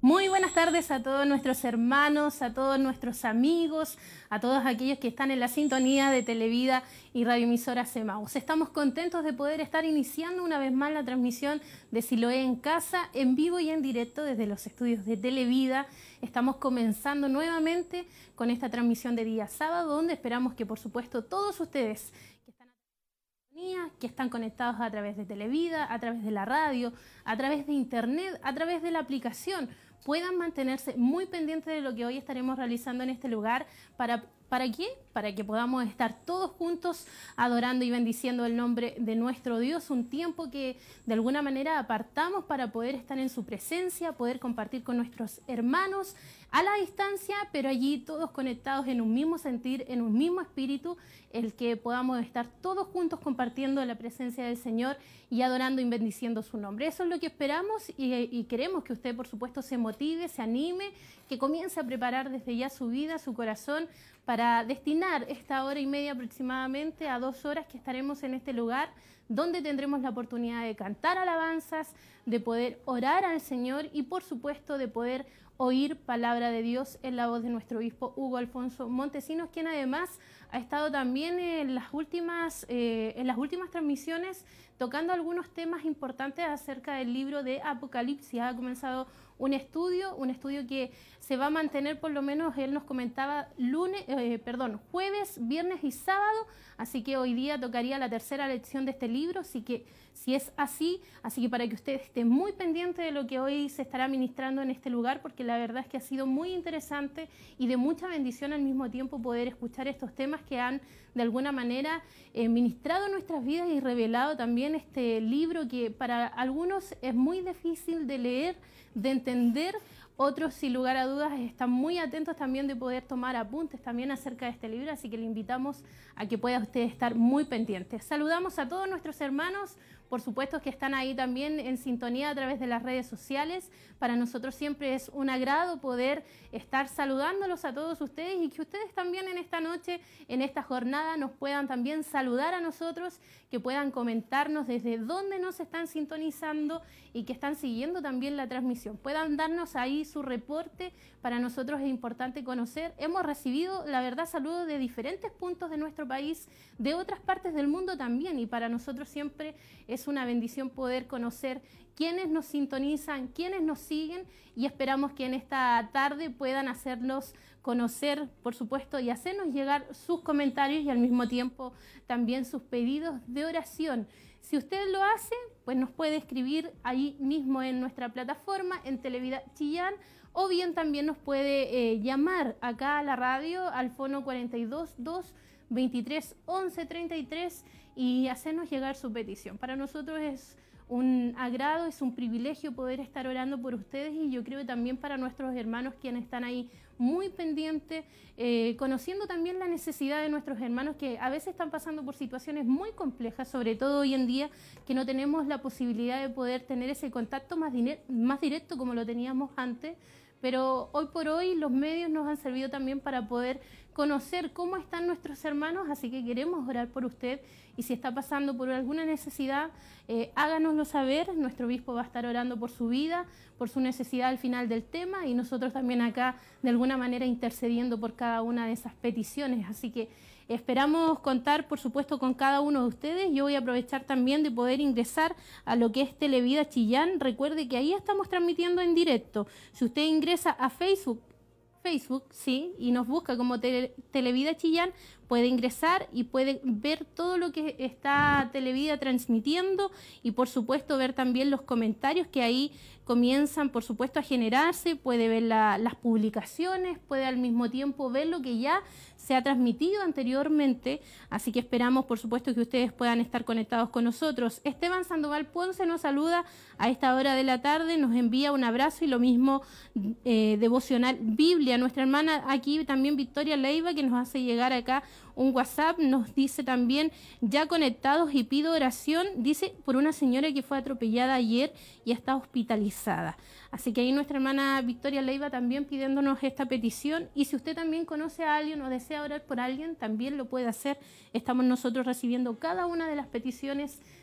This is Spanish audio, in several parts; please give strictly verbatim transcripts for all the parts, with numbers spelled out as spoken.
Muy buenas tardes a todos nuestros hermanos, a todos nuestros amigos, a todos aquellos que están en la sintonía de Televida y radioemisoras Emaús. Estamos contentos de poder estar iniciando una vez más la transmisión de Siloé en Casa, en vivo y en directo desde los estudios de Televida. Estamos comenzando nuevamente con esta transmisión de día sábado, donde esperamos que, por supuesto, todos ustedes que están que están conectados a través de Televida, a través de la radio, a través de internet, a través de la aplicación, puedan mantenerse muy pendientes de lo que hoy estaremos realizando en este lugar. ¿Para, ¿para qué? Para que podamos estar todos juntos adorando y bendiciendo el nombre de nuestro Dios, un tiempo que de alguna manera apartamos para poder estar en su presencia, poder compartir con nuestros hermanos a la distancia, pero allí todos conectados en un mismo sentir, en un mismo espíritu, el que podamos estar todos juntos compartiendo la presencia del Señor y adorando y bendiciendo su nombre. Eso es lo que esperamos y, y queremos que usted, por supuesto, se motive, se anime, que comience a preparar desde ya su vida, su corazón, para destinar esta hora y media aproximadamente a dos horas que estaremos en este lugar, donde tendremos la oportunidad de cantar alabanzas, de poder orar al Señor y, por supuesto, de poder oír palabra de Dios en la voz de nuestro obispo Hugo Alfonso Montesinos, quien además ha estado también en las últimas, eh, en las últimas transmisiones tocando algunos temas importantes acerca del libro de Apocalipsis. Ha comenzado un estudio, un estudio que se va a mantener, por lo menos él nos comentaba, lunes, eh, perdón, jueves, viernes y sábado, así que hoy día tocaría la tercera lección de este libro, así que si es así, así que para que usted esté muy pendiente de lo que hoy se estará ministrando en este lugar, porque la verdad es que ha sido muy interesante y de mucha bendición al mismo tiempo poder escuchar estos temas que han de alguna manera eh, ministrado nuestras vidas y revelado también este libro que para algunos es muy difícil de leer, de entender. Otros, sin lugar a dudas, están muy atentos también de poder tomar apuntes también acerca de este libro, así que le invitamos a que pueda usted estar muy pendiente. Saludamos a todos nuestros hermanos, por supuesto que están ahí también en sintonía a través de las redes sociales. Para nosotros siempre es un agrado poder estar saludándolos a todos ustedes y que ustedes también en esta noche, en esta jornada, nos puedan también saludar a nosotros, que puedan comentarnos desde dónde nos están sintonizando y que están siguiendo también la transmisión. Puedan darnos ahí su reporte, para nosotros es importante conocer. Hemos recibido, la verdad, saludos de diferentes puntos de nuestro país, de otras partes del mundo también, y para nosotros siempre es una bendición poder conocer quiénes nos sintonizan, quiénes nos siguen, y esperamos que en esta tarde puedan hacerlos conocer, por supuesto, y hacernos llegar sus comentarios y al mismo tiempo también sus pedidos de oración. Si usted lo hace, pues nos puede escribir ahí mismo en nuestra plataforma, en Televida Chillán, o bien también nos puede eh, llamar acá a la radio al fono cuarenta y dos, dos, veintitrés, once, treinta y tres y hacernos llegar su petición. Para nosotros es un agrado, es un privilegio poder estar orando por ustedes, y yo creo que también para nuestros hermanos quienes están ahí muy pendientes, eh, conociendo también la necesidad de nuestros hermanos que a veces están pasando por situaciones muy complejas, sobre todo hoy en día que no tenemos la posibilidad de poder tener ese contacto más, más directo como lo teníamos antes, pero hoy por hoy los medios nos han servido también para poder conocer cómo están nuestros hermanos, así que queremos orar por usted, y si está pasando por alguna necesidad, eh, háganoslo saber. Nuestro obispo va a estar orando por su vida, por su necesidad al final del tema, y nosotros también acá de alguna manera intercediendo por cada una de esas peticiones, así que esperamos contar, por supuesto, con cada uno de ustedes. Yo voy a aprovechar también de poder ingresar a lo que es Televida Chillán. Recuerde que ahí estamos transmitiendo en directo. Si usted ingresa a Facebook, Facebook, sí, y nos busca como Tele, Televida Chillán, puede ingresar y puede ver todo lo que está Televida transmitiendo, y por supuesto ver también los comentarios que ahí comienzan, por supuesto, a generarse. Puede ver la, las publicaciones, puede al mismo tiempo ver lo que ya se ha transmitido anteriormente, así que esperamos, por supuesto, que ustedes puedan estar conectados con nosotros. Esteban Sandoval Ponce nos saluda a esta hora de la tarde, nos envía un abrazo, y lo mismo eh, Devocional Biblia. Nuestra hermana aquí también, Victoria Leiva, que nos hace llegar acá un WhatsApp, nos dice también, ya conectados y pido oración, dice, por una señora que fue atropellada ayer y está hospitalizada. Así que ahí nuestra hermana Victoria Leiva también pidiéndonos esta petición, y si usted también conoce a alguien o desea orar por alguien, también lo puede hacer. Estamos nosotros recibiendo cada una de las peticiones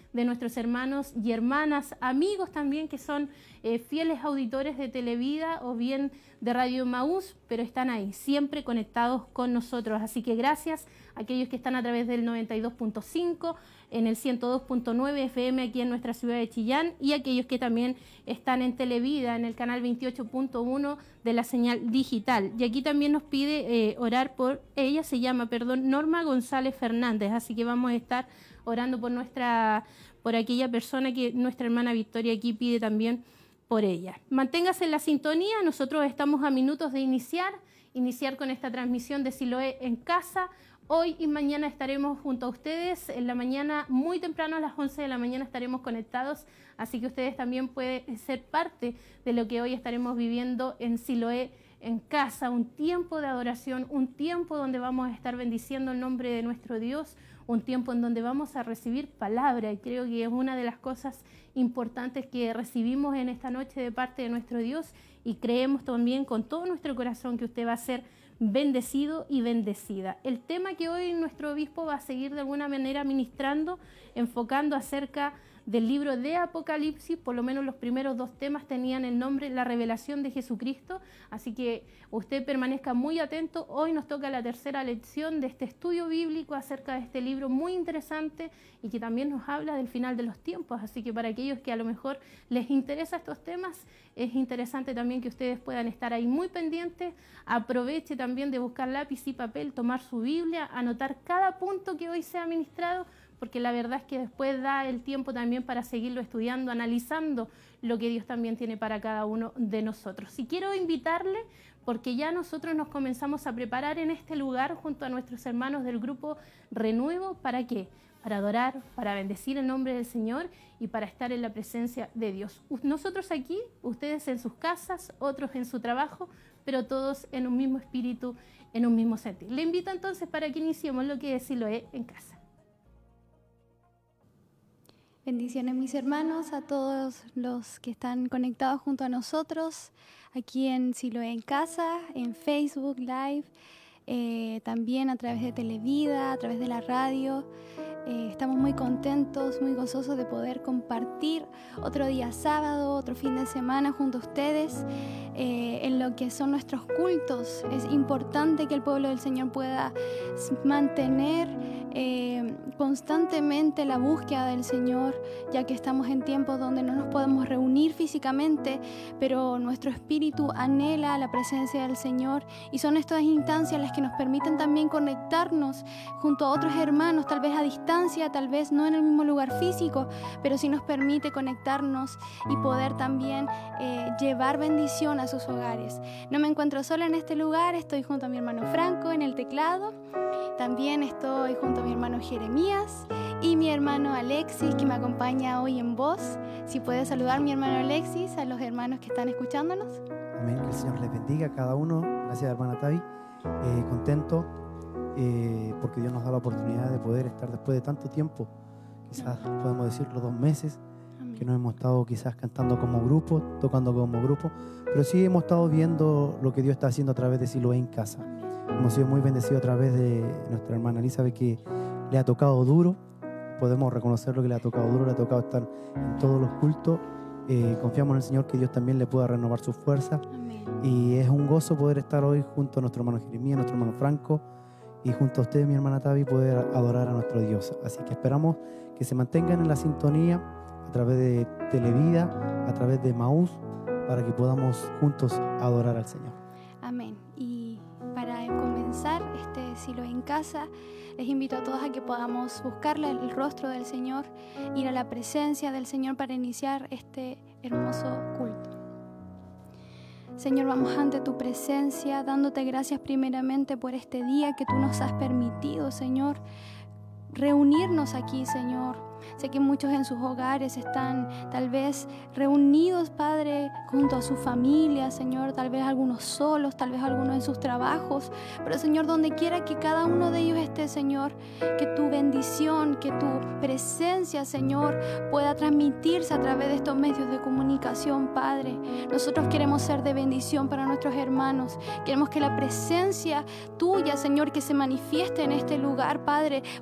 de nuestros hermanos y hermanas, amigos también que son eh, fieles auditores de Televida o bien de Radio Emaús, pero están ahí, siempre conectados con nosotros. Así que gracias a aquellos que están a través del noventa y dos punto cinco, en el ciento dos punto nueve F M aquí en nuestra ciudad de Chillán, y aquellos que también están en Televida, en el canal veintiocho punto uno de la señal digital. Y aquí también nos pide eh, orar por, ella se llama, perdón, Norma González Fernández, así que vamos a estar orando por nuestra, por aquella persona que nuestra hermana Victoria aquí pide también por ella. Manténgase en la sintonía, nosotros estamos a minutos de iniciar, iniciar con esta transmisión de Siloé en casa. Hoy y mañana estaremos junto a ustedes, en la mañana muy temprano a las once de la mañana estaremos conectados, así que ustedes también pueden ser parte de lo que hoy estaremos viviendo en Siloé en casa, un tiempo de adoración, un tiempo donde vamos a estar bendiciendo el nombre de nuestro Dios, un tiempo en donde vamos a recibir palabra, y creo que es una de las cosas importantes que recibimos en esta noche de parte de nuestro Dios, y creemos también con todo nuestro corazón que usted va a ser bendecido y bendecida. El tema que hoy nuestro obispo va a seguir de alguna manera ministrando, enfocando acerca del libro de Apocalipsis, por lo menos los primeros dos temas tenían el nombre La revelación de Jesucristo, así que usted permanezca muy atento. Hoy nos toca la tercera lección de este estudio bíblico acerca de este libro muy interesante y que también nos habla del final de los tiempos, así que para aquellos que a lo mejor les interesan estos temas, es interesante también que ustedes puedan estar ahí muy pendientes. Aproveche también de buscar lápiz y papel, tomar su Biblia, anotar cada punto que hoy sea ministrado, porque la verdad es que después da el tiempo también para seguirlo estudiando, analizando lo que Dios también tiene para cada uno de nosotros. Y quiero invitarle, porque ya nosotros nos comenzamos a preparar en este lugar junto a nuestros hermanos del grupo Renuevo, ¿para qué? Para adorar, para bendecir el nombre del Señor y para estar en la presencia de Dios. Nosotros aquí, ustedes en sus casas, otros en su trabajo, pero todos en un mismo espíritu, en un mismo sentir. Le invito entonces para que iniciemos lo que es Siloé en casa. Bendiciones mis hermanos, a todos los que están conectados junto a nosotros, aquí en Siloé en casa, en Facebook Live, eh, también a través de Televida, a través de la radio. Eh, estamos muy contentos, muy gozosos de poder compartir otro día sábado, otro fin de semana junto a ustedes eh, en lo que son nuestros cultos. Es importante que el pueblo del Señor pueda mantener eh, constantemente la búsqueda del Señor, ya que estamos en tiempos donde no nos podemos reunir físicamente, pero nuestro espíritu anhela la presencia del Señor, y son estas instancias las que nos permiten también conectarnos junto a otros hermanos, tal vez a distancia, tal vez no en el mismo lugar físico, pero sí nos permite conectarnos y poder también eh, llevar bendición a sus hogares. No me encuentro sola en este lugar, estoy junto a mi hermano Franco en el teclado, también estoy junto a mi hermano Jeremías y mi hermano Alexis, que me acompaña hoy en voz. Si puede saludar mi hermano Alexis a los hermanos que están escuchándonos. Amén, que el Señor les bendiga a cada uno. Gracias, hermana Tavi. Eh, contento eh, porque Dios nos da la oportunidad de poder estar después de tanto tiempo, quizás podemos decirlo dos meses, Amén. Que no hemos estado quizás cantando como grupo, tocando como grupo, pero sí hemos estado viendo lo que Dios está haciendo a través de Siloé en casa. Amén. Hemos sido muy bendecidos a través de nuestra hermana Elizabeth, que le ha tocado duro. Podemos reconocer lo que le ha tocado duro, le ha tocado estar en todos los cultos. Eh, confiamos en el Señor que Dios también le pueda renovar sus fuerzas. Amén. Y es un gozo poder estar hoy junto a nuestro hermano Jeremías, nuestro hermano Franco, y junto a usted, mi hermana Tavi, poder adorar a nuestro Dios. Así que esperamos que se mantengan en la sintonía a través de Televida, a través de Emaús, para que podamos juntos adorar al Señor. Amén. Y para comenzar este Siloé en casa, les invito a todos a que podamos buscarle el rostro del Señor, ir a la presencia del Señor para iniciar este hermoso culto. Señor, vamos ante tu presencia, dándote gracias primeramente por este día que tú nos has permitido, Señor, reunirnos aquí, Señor. Sé que muchos en sus hogares están tal vez reunidos, Padre, junto a su familia, Señor, tal vez algunos solos, tal vez algunos en sus trabajos, pero Señor, donde quiera que cada uno de ellos esté, Señor, que tu bendición, que tu presencia, Señor, pueda transmitirse a través de estos medios de comunicación, Padre. Nosotros queremos ser de bendición para nuestros hermanos, queremos que la presencia tuya, Señor, que se manifieste en este lugar, Padre, pueda traspasar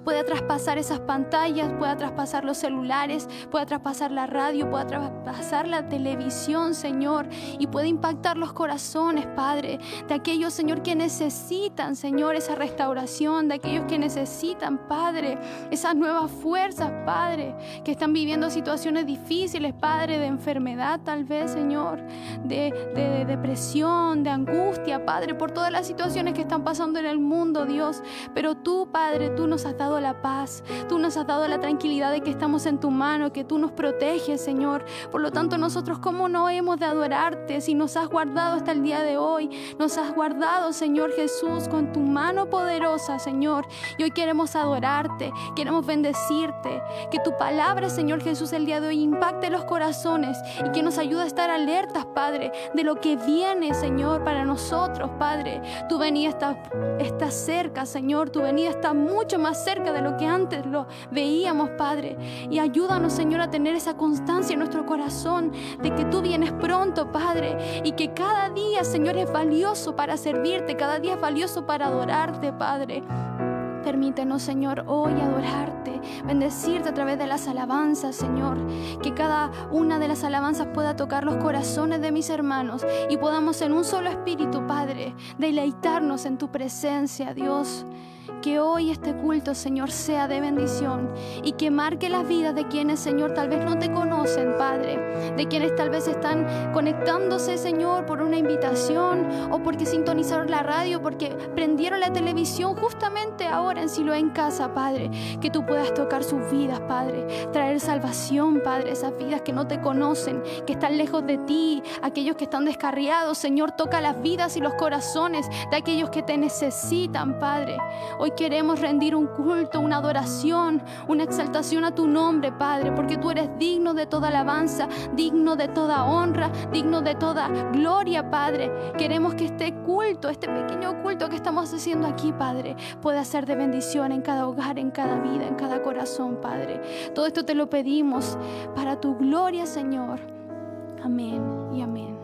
traspasar esas pantallas, pueda traspasar los celulares, pueda traspasar la radio, pueda traspasar la televisión, Señor, y pueda impactar los corazones, Padre, de aquellos, Señor, que necesitan, Señor, esa restauración, de aquellos que necesitan, Padre, esas nuevas fuerzas, Padre, que están viviendo situaciones difíciles, Padre, de enfermedad tal vez, Señor, de, de, de depresión, de angustia, Padre, por todas las situaciones que están pasando en el mundo, Dios. Pero tú, Padre, tú nos has dado la paz, tú nos has dado la tranquilidad de que estamos en tu mano, que tú nos proteges, Señor. Por lo tanto, nosotros, ¿cómo no hemos de adorarte si nos has guardado hasta el día de hoy? Nos has guardado, Señor Jesús, con tu mano poderosa, Señor. Y hoy queremos adorarte, queremos bendecirte. Que tu palabra, Señor Jesús, el día de hoy impacte los corazones y que nos ayude a estar alertas, Padre, de lo que viene, Señor, para nosotros, Padre. Tu venida está, está cerca, Señor. Tu venida está mucho más cerca de lo que antes lo veíamos, Padre. Y ayúdanos, Señor, a tener esa constancia en nuestro corazón de que tú vienes pronto, Padre, y que cada día, Señor, es valioso para servirte, cada día es valioso para adorarte, Padre. Permítenos, Señor, hoy adorarte, bendecirte a través de las alabanzas, Señor. Que cada una de las alabanzas pueda tocar los corazones de mis hermanos y podamos en un solo espíritu, Padre, deleitarnos en tu presencia, Dios. Que hoy este culto, Señor, sea de bendición y que marque las vidas de quienes, Señor, tal vez no te conocen, Padre. De quienes tal vez están conectándose, Señor, por una invitación o porque sintonizaron la radio, porque prendieron la televisión justamente ahora en Siloé en Casa, Padre. Que tú puedas tocar sus vidas, Padre. Traer salvación, Padre, esas vidas que no te conocen, que están lejos de ti, aquellos que están descarriados, Señor, toca las vidas y los corazones de aquellos que te necesitan, Padre. Hoy queremos rendir un culto, una adoración, una exaltación a tu nombre, Padre, porque tú eres digno de toda alabanza, digno de toda honra, digno de toda gloria, Padre. Queremos que este culto, este pequeño culto que estamos haciendo aquí, Padre, pueda ser de bendición en cada hogar, en cada vida, en cada corazón, Padre. Todo esto te lo pedimos para tu gloria, Señor. Amén y amén.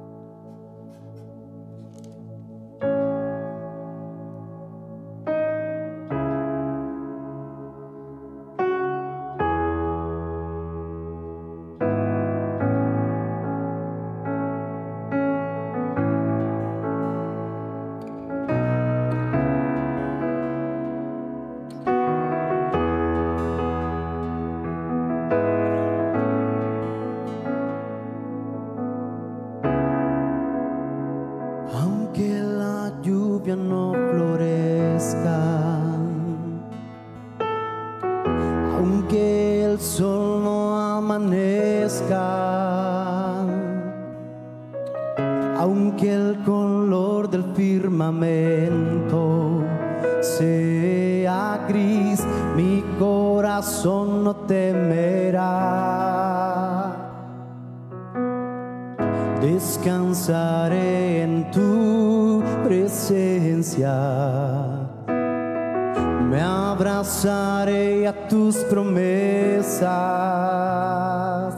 No florezca, aunque el sol no amanezca, aunque el color del firmamento sea gris, mi corazón no temerá. Descansaré en tu presencia, me abrazaré a tus promesas.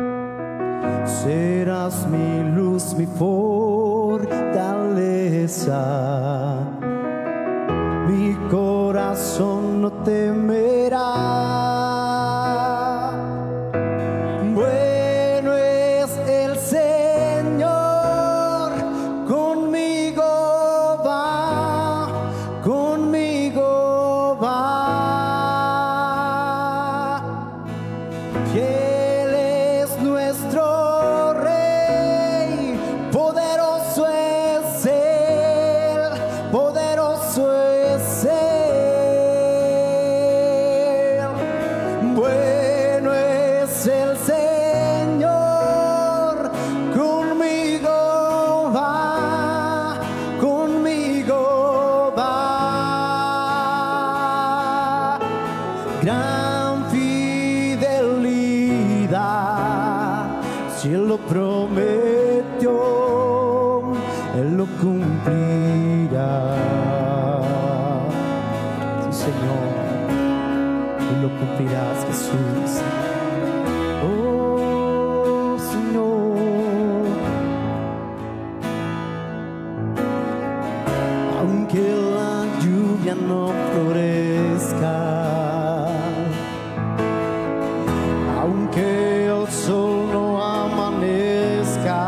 Serás mi luz, mi fortaleza, mi corazón no temerá. Gran fidelidad, si Él lo prometió, Él lo cumplirá. Sí, Señor, Él lo cumplirás, Jesús. Oh, Señor, aunque la lluvia no florezca, sol no amanezca,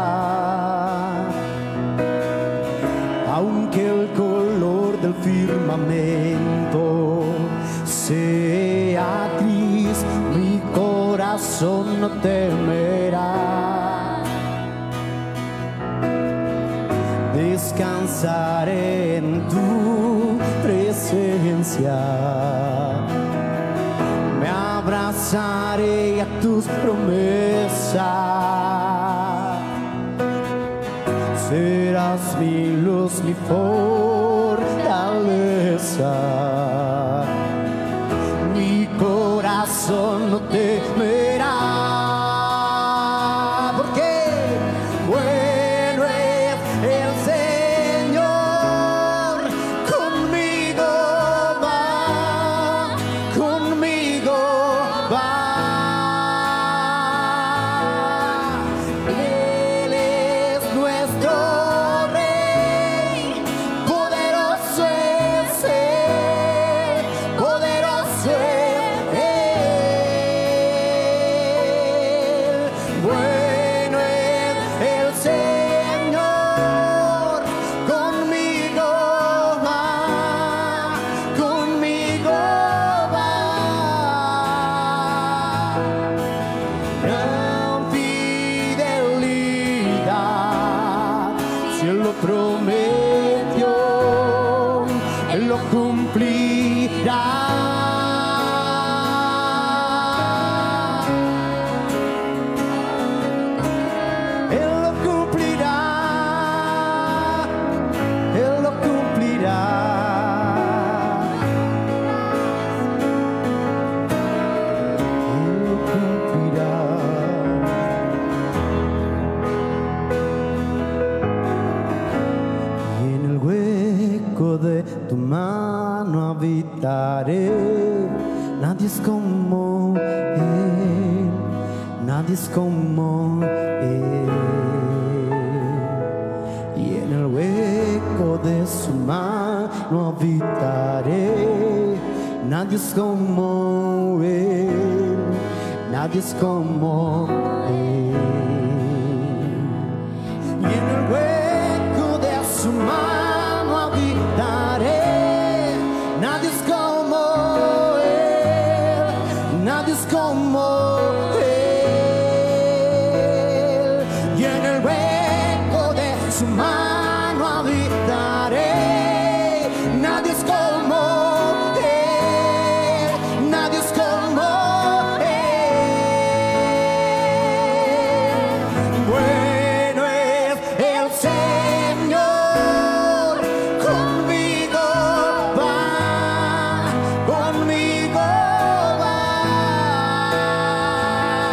aunque el color del firmamento sea gris, mi corazón no temerá. Descansaré en tu presencia, me abrazaré a tus promesas. Serás mi luz, mi fortaleza. Mi corazón no temerá, porque bueno es el Señor. Conmigo va, conmigo va. Él es nuestro Rey, poderoso es Él, poderoso es Él. Bueno es el Señor, conmigo va, conmigo va. Gran fidelidad, si Él lo prometió, Él lo cumplirá. Él lo cumplirá, Él lo cumplirá. Él lo cumplirá. Y en el hueco de tu mano habitaré. Nadie es como Él, nadie es como Él. Y en el hueco de su mano habitaré. Nadie es como Él, nadie es como Él. Y en el hueco de su mano habitaré. Nadie es como Él, nadie es como Él. Y en el hueco de su mano habitaré. Nadie es como Él, nadie es como Él. Bueno es el Señor, conmigo va, conmigo va.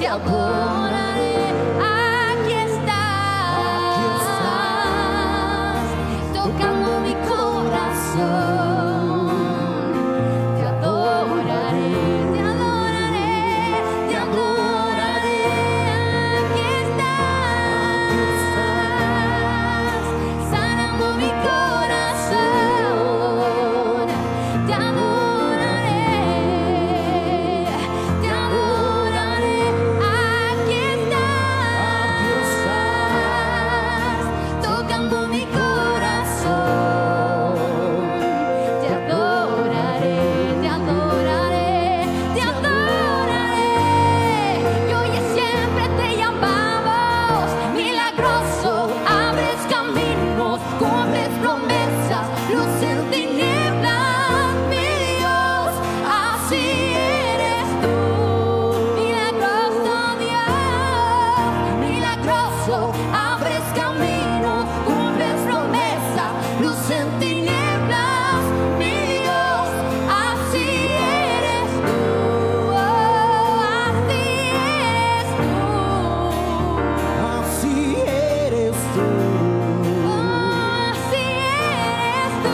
adoraré. Aquí estás, tocando mi corazón. Te adoraré, te adoraré, te adoraré. Aquí estás, sanando mi corazón. Te adoraré, te adoraré. Aquí estás, tocando mi corazón. Te adoraré, te adoraré, te adoraré. Y hoy y siempre te llamamos milagroso. Abres caminos, cumples promesas, luz en tinieblas, mi Dios. Así eres tú, milagroso Dios, milagroso. Abres caminos, cumples promesas, luz en tinieblas, mi Dios. Así eres tú, oh, así eres tú, Así eres tú. oh, así eres tú,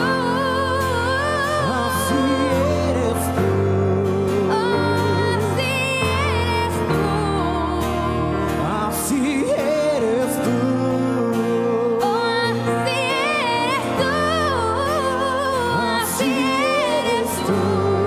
Así eres tú. oh, así eres tú, Así eres tú. oh, así eres tú, así eres tú.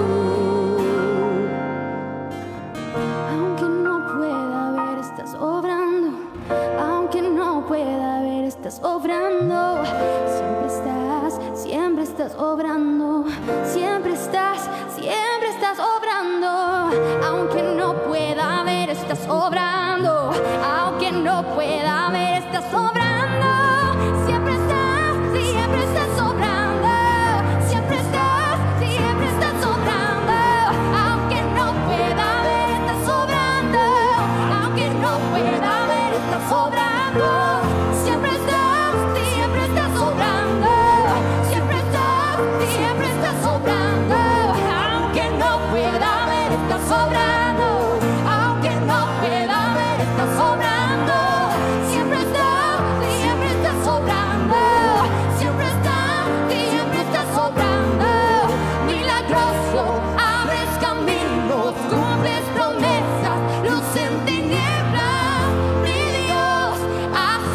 Aunque no pueda ver, estás obrando. Aunque no pueda ver, estás obrando. Siempre estás, siempre estás obrando. Siempre estás, siempre estás obrando. Aunque no pueda ver, estás obrando. Aunque no pueda ver, estás obrando. Siempre estás, siempre estás obrando. Siempre estás, siempre estás obrando. Aunque no pueda ver, estás obrando. Aunque no pueda ver, estás obrando. Siempre estás, siempre estás obrando. Siempre estás, siempre estás obrando. Aunque no pueda ver, estás obrando. Aunque no pueda ver, estás obrando. Siempre estás, siempre estás obrando. Siempre estás, siempre estás obrando. Milagroso, abres caminos, cumples promesas, luz en tinieblas, mi Dios. Así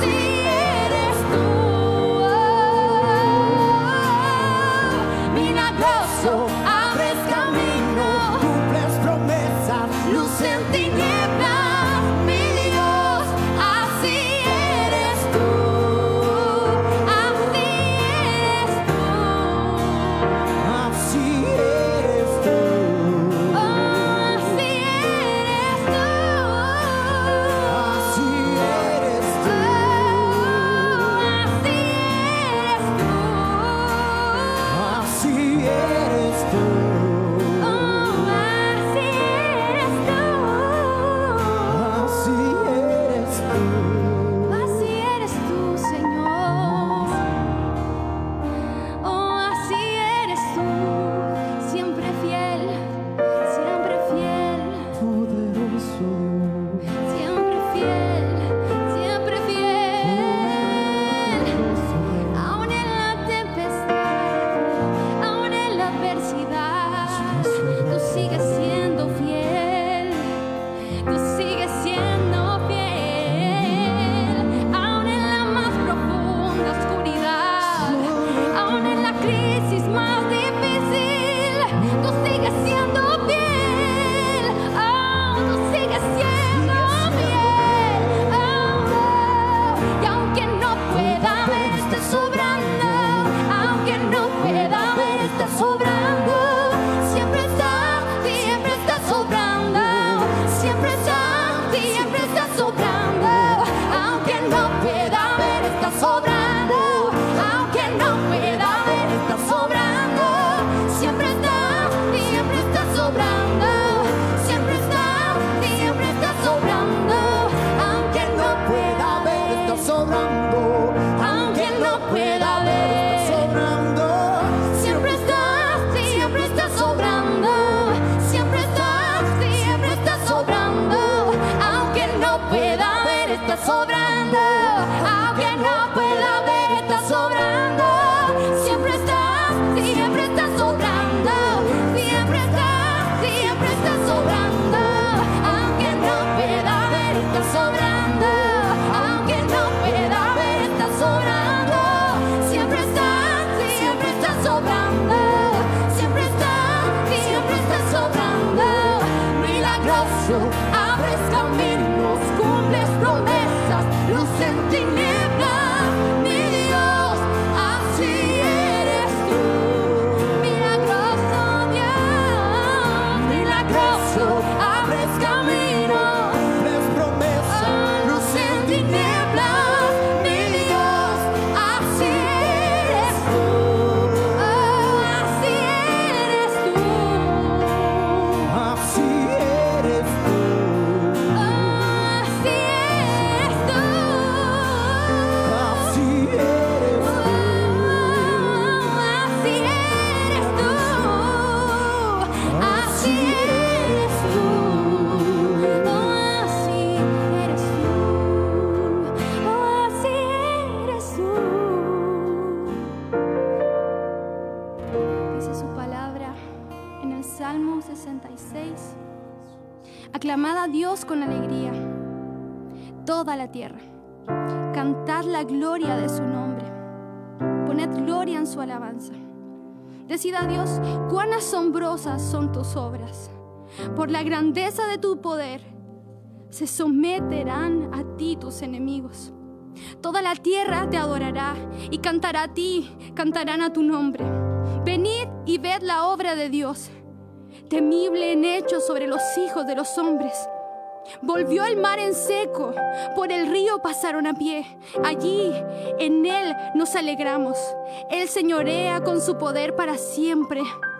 pueda ver, estás sobrando. Aunque no pueda ver, estás sobrando. Siempre estás, siempre estás sobrando. Siempre estás, siempre estás sobrando. Aunque no pueda ver, estás sobrando. Aunque no pueda ver, estás sobrando. Siempre estás, siempre estás sobrando. Siempre estás, siempre estás sobrando. Milagroso, abres caminos, cumples promesas, luz en tinieblas, mi Dios, así eres tú. Milagroso Dios, milagroso, abres caminos, cumples promesas, luz en tinieblas, mi Dios, así eres tú. Oh, así eres tú. Así eres tú. Oh, así eres tú. Así eres Oh, así eres tú. Así eres tú. Oh, así eres tú. Oh, así eres tú. Dice su palabra en el Salmo sesenta y seis. Aclamad a Dios con alegría, toda la tierra. Cantad la gloria de su nombre. Poned gloria en su alabanza. Decid a Dios, cuán asombrosas son tus obras. Por la grandeza de tu poder, se someterán a ti tus enemigos. Toda la tierra te adorará y cantará a ti, cantarán a tu nombre. Venid y ved la obra de Dios, temible en hechos sobre los hijos de los hombres. Volvió el mar en seco, por el río pasaron a pie. Allí en él nos alegramos. Él señorea con su poder para siempre.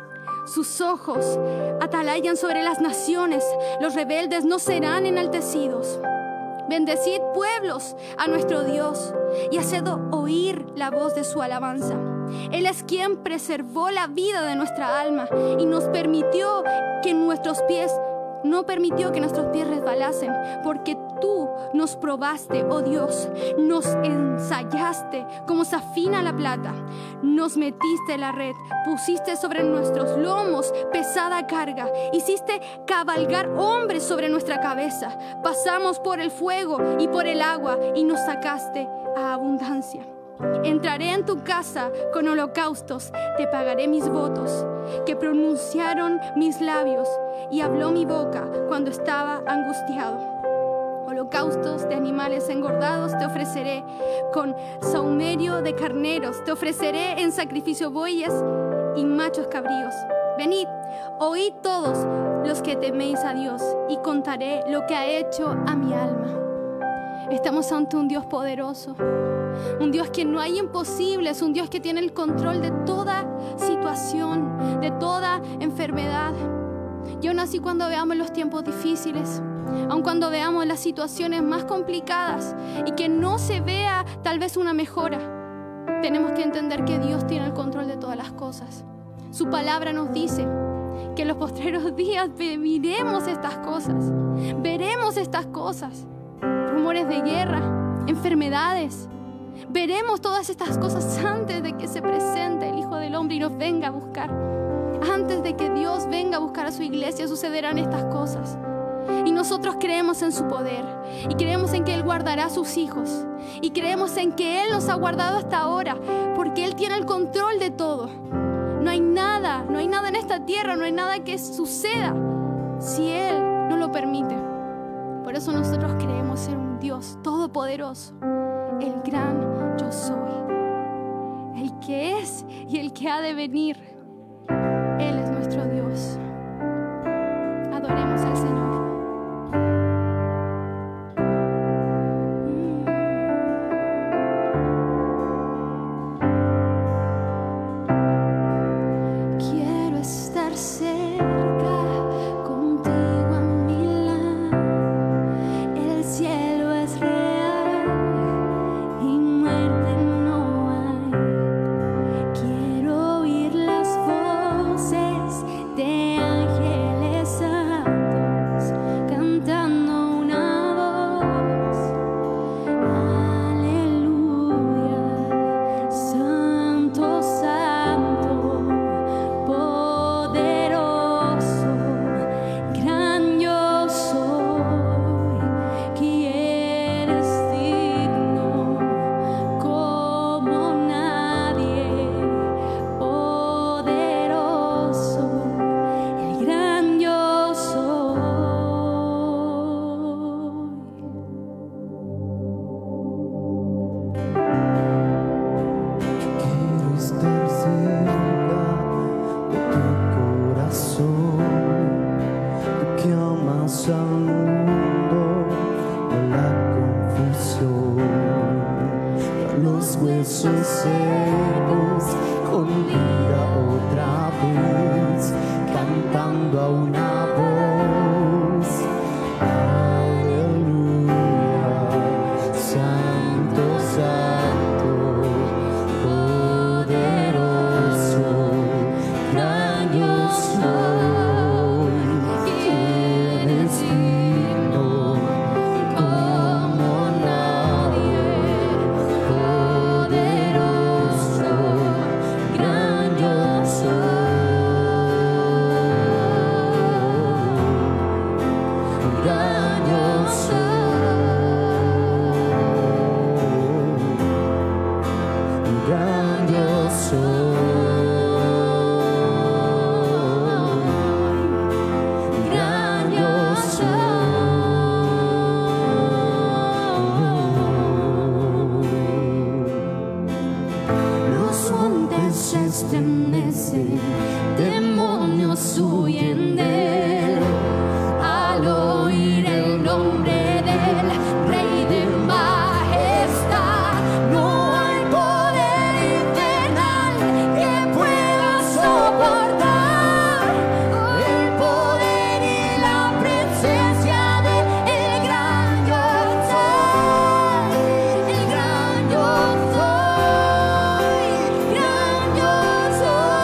Sus ojos atalayan sobre las naciones. Los rebeldes no serán enaltecidos. Bendecid pueblos a nuestro Dios y haced oír la voz de su alabanza. Él es quien preservó la vida de nuestra alma y nos permitió que nuestros pies No permitió que nuestros pies resbalasen, porque tú nos probaste, oh Dios, nos ensayaste como se afina la plata, nos metiste en la red, pusiste sobre nuestros lomos pesada carga, hiciste cabalgar hombres sobre nuestra cabeza, pasamos por el fuego y por el agua y nos sacaste a abundancia. Entraré en tu casa con holocaustos, te pagaré mis votos, que pronunciaron mis labios y habló mi boca cuando estaba angustiado. Holocaustos de animales engordados te ofreceré, con sahumerio de carneros te ofreceré en sacrificio bueyes y machos cabríos. Venid, oíd todos los que teméis a Dios, y contaré lo que ha hecho a mi alma. Estamos ante un Dios poderoso, un Dios que no hay imposibles, un Dios que tiene el control de toda situación, de toda enfermedad. Y aún así, cuando veamos los tiempos difíciles, aun cuando veamos las situaciones más complicadas y que no se vea tal vez una mejora, tenemos que entender que Dios tiene el control de todas las cosas. Su palabra nos dice que en los postreros días viviremos estas cosas, veremos estas cosas, rumores de guerra, enfermedades. Veremos todas estas cosas antes de que se presente el Hijo del Hombre y nos venga a buscar. Antes de que Dios venga a buscar a su iglesia, sucederán estas cosas. Y nosotros creemos en su poder, y creemos en que Él guardará a sus hijos, y creemos en que Él nos ha guardado hasta ahora, porque Él tiene el control de todo. No hay nada, no hay nada en esta tierra, no hay nada que suceda si Él no lo permite. Por eso nosotros creemos en un Dios todopoderoso, el gran yo soy, el que es y el que ha de venir. Él es nuestro Dios. Adoremos al Señor. Quiero estar cerca contigo a mi lado. El cielo es real y muerte no hay. Quiero oír las voces de ángeles santos los huesos secos con vida otra vez, cantando a una voz. Aleluya, santo, santo, poderoso, gran yo soy. ¿Quién es digno como nadie? Poderoso, gran yo soy. Gran yo soy. Gran yo soy. Gran yo soy. Los montes se estremecen, demonios huyen de él al oír el nombre del Rey de Majestad. No hay poder infernal que pueda soportar el poder y la presencia del gran yo soy. El gran yo soy. Gran yo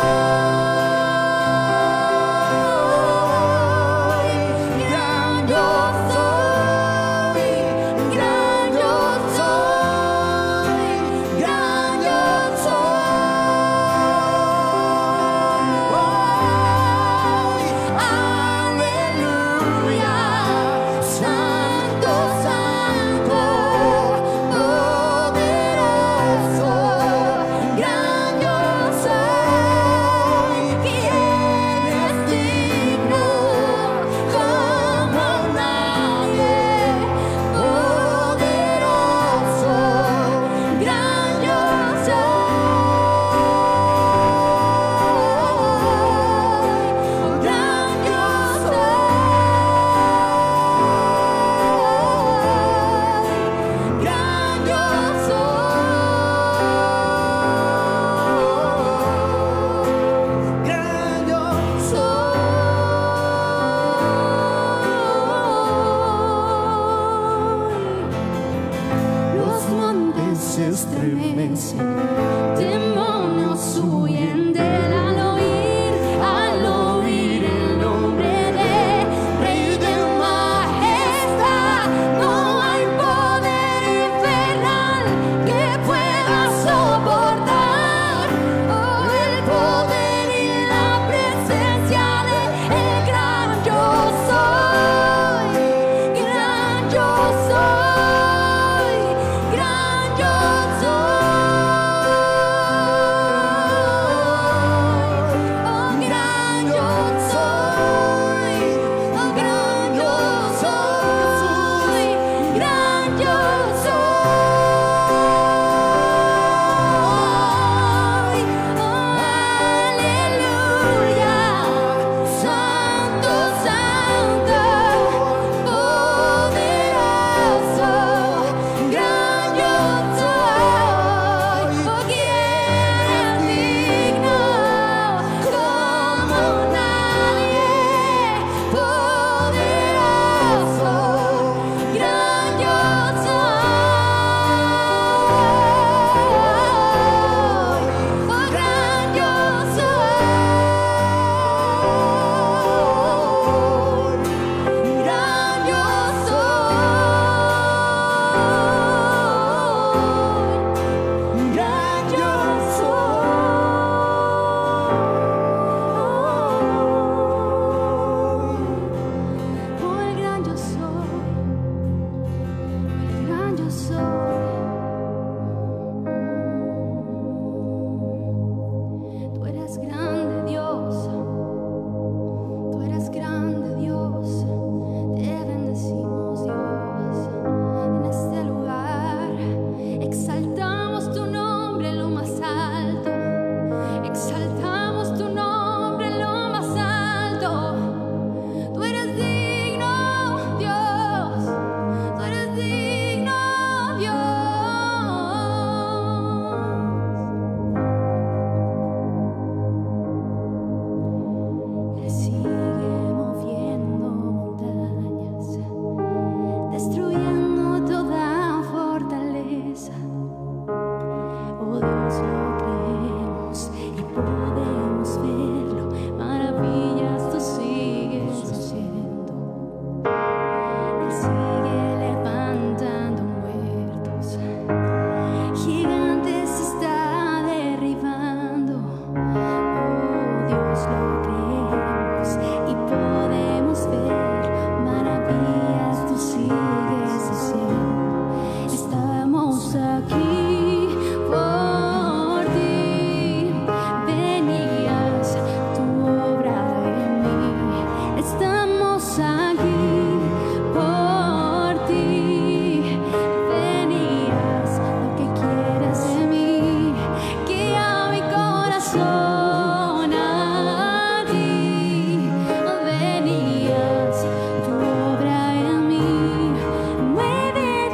soy. Gran yo soy. Gran yo soy. Gran yo soy. Aleluya, santo, santo, poderoso, gran yo soy. ¿Quién es digno como nadie? Poderoso, gran yo soy. Gran yo soy. Gran yo soy. Gran yo soy. Los montes se estremecen, demonios huyen de él al oír, al oír el nombre de Rey de Majestad. No hay poder infernal que pueda soportar el poder y la presencia del gran yo soy. Gran yo soy. Gran yo soy.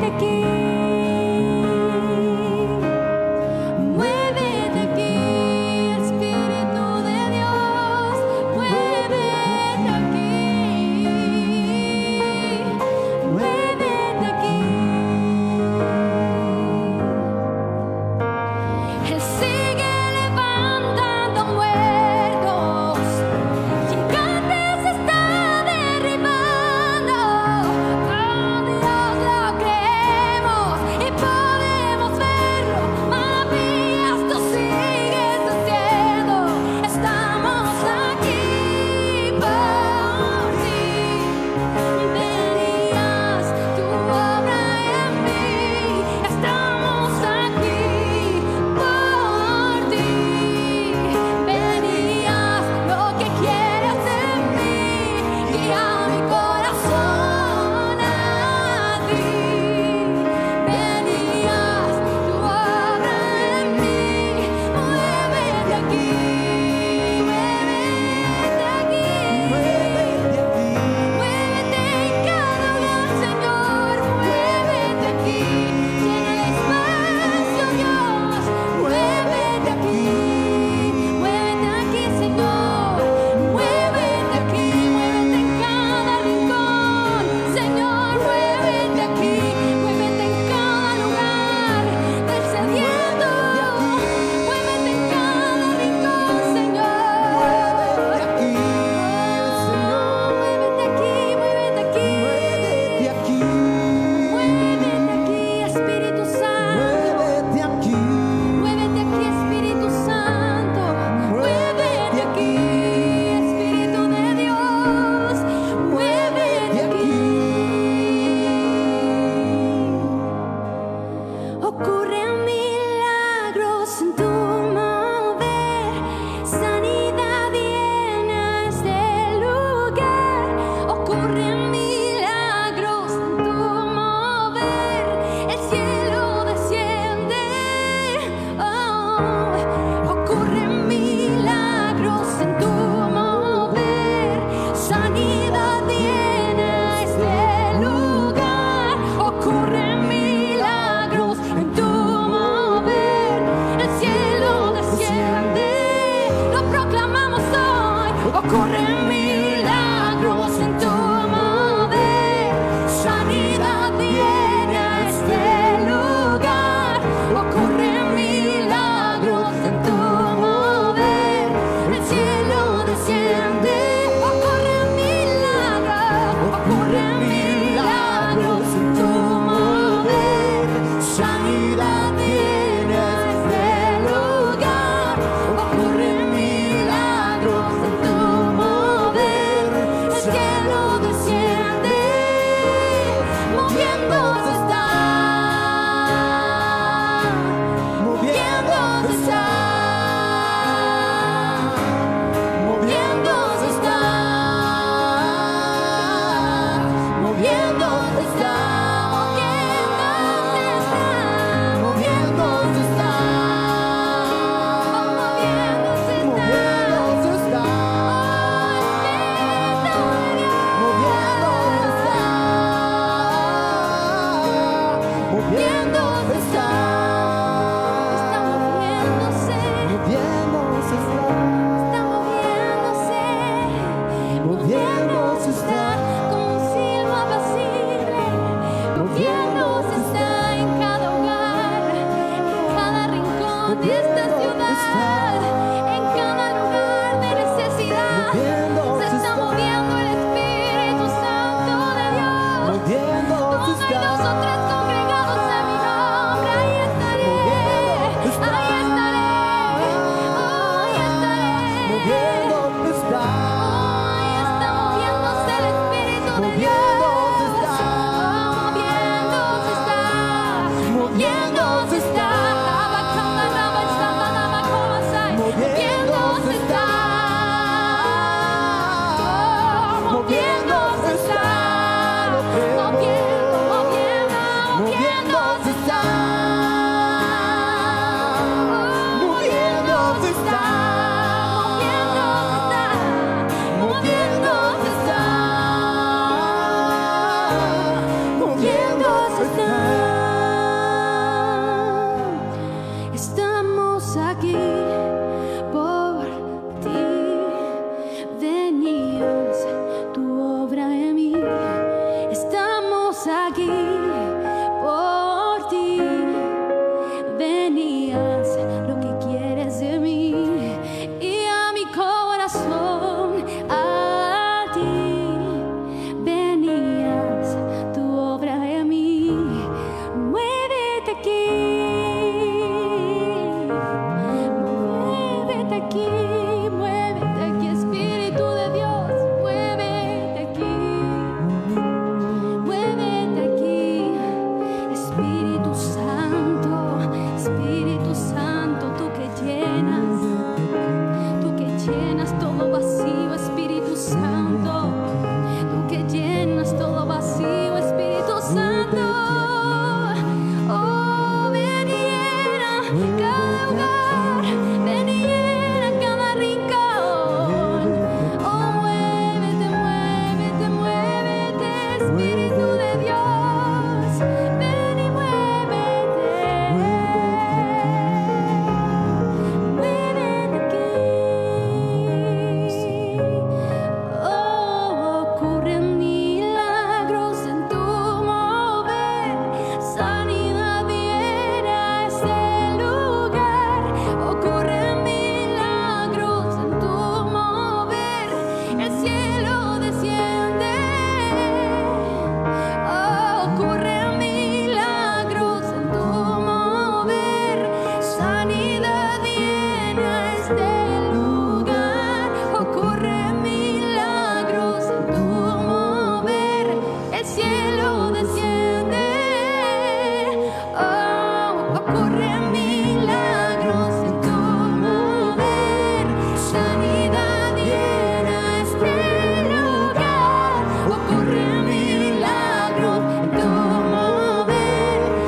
Moviéndose está,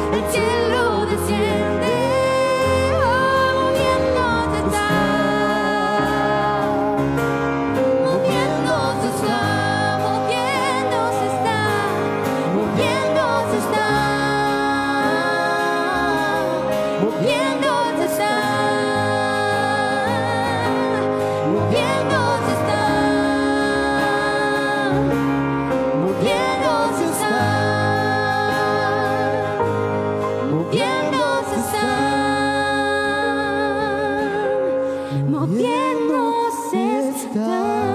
el cielo desciende, oh, moviéndose está, moviéndose está, moviéndose está, moviéndose está, moviéndose está, moviéndose está, moviéndose está, moviéndose está, moviéndose está.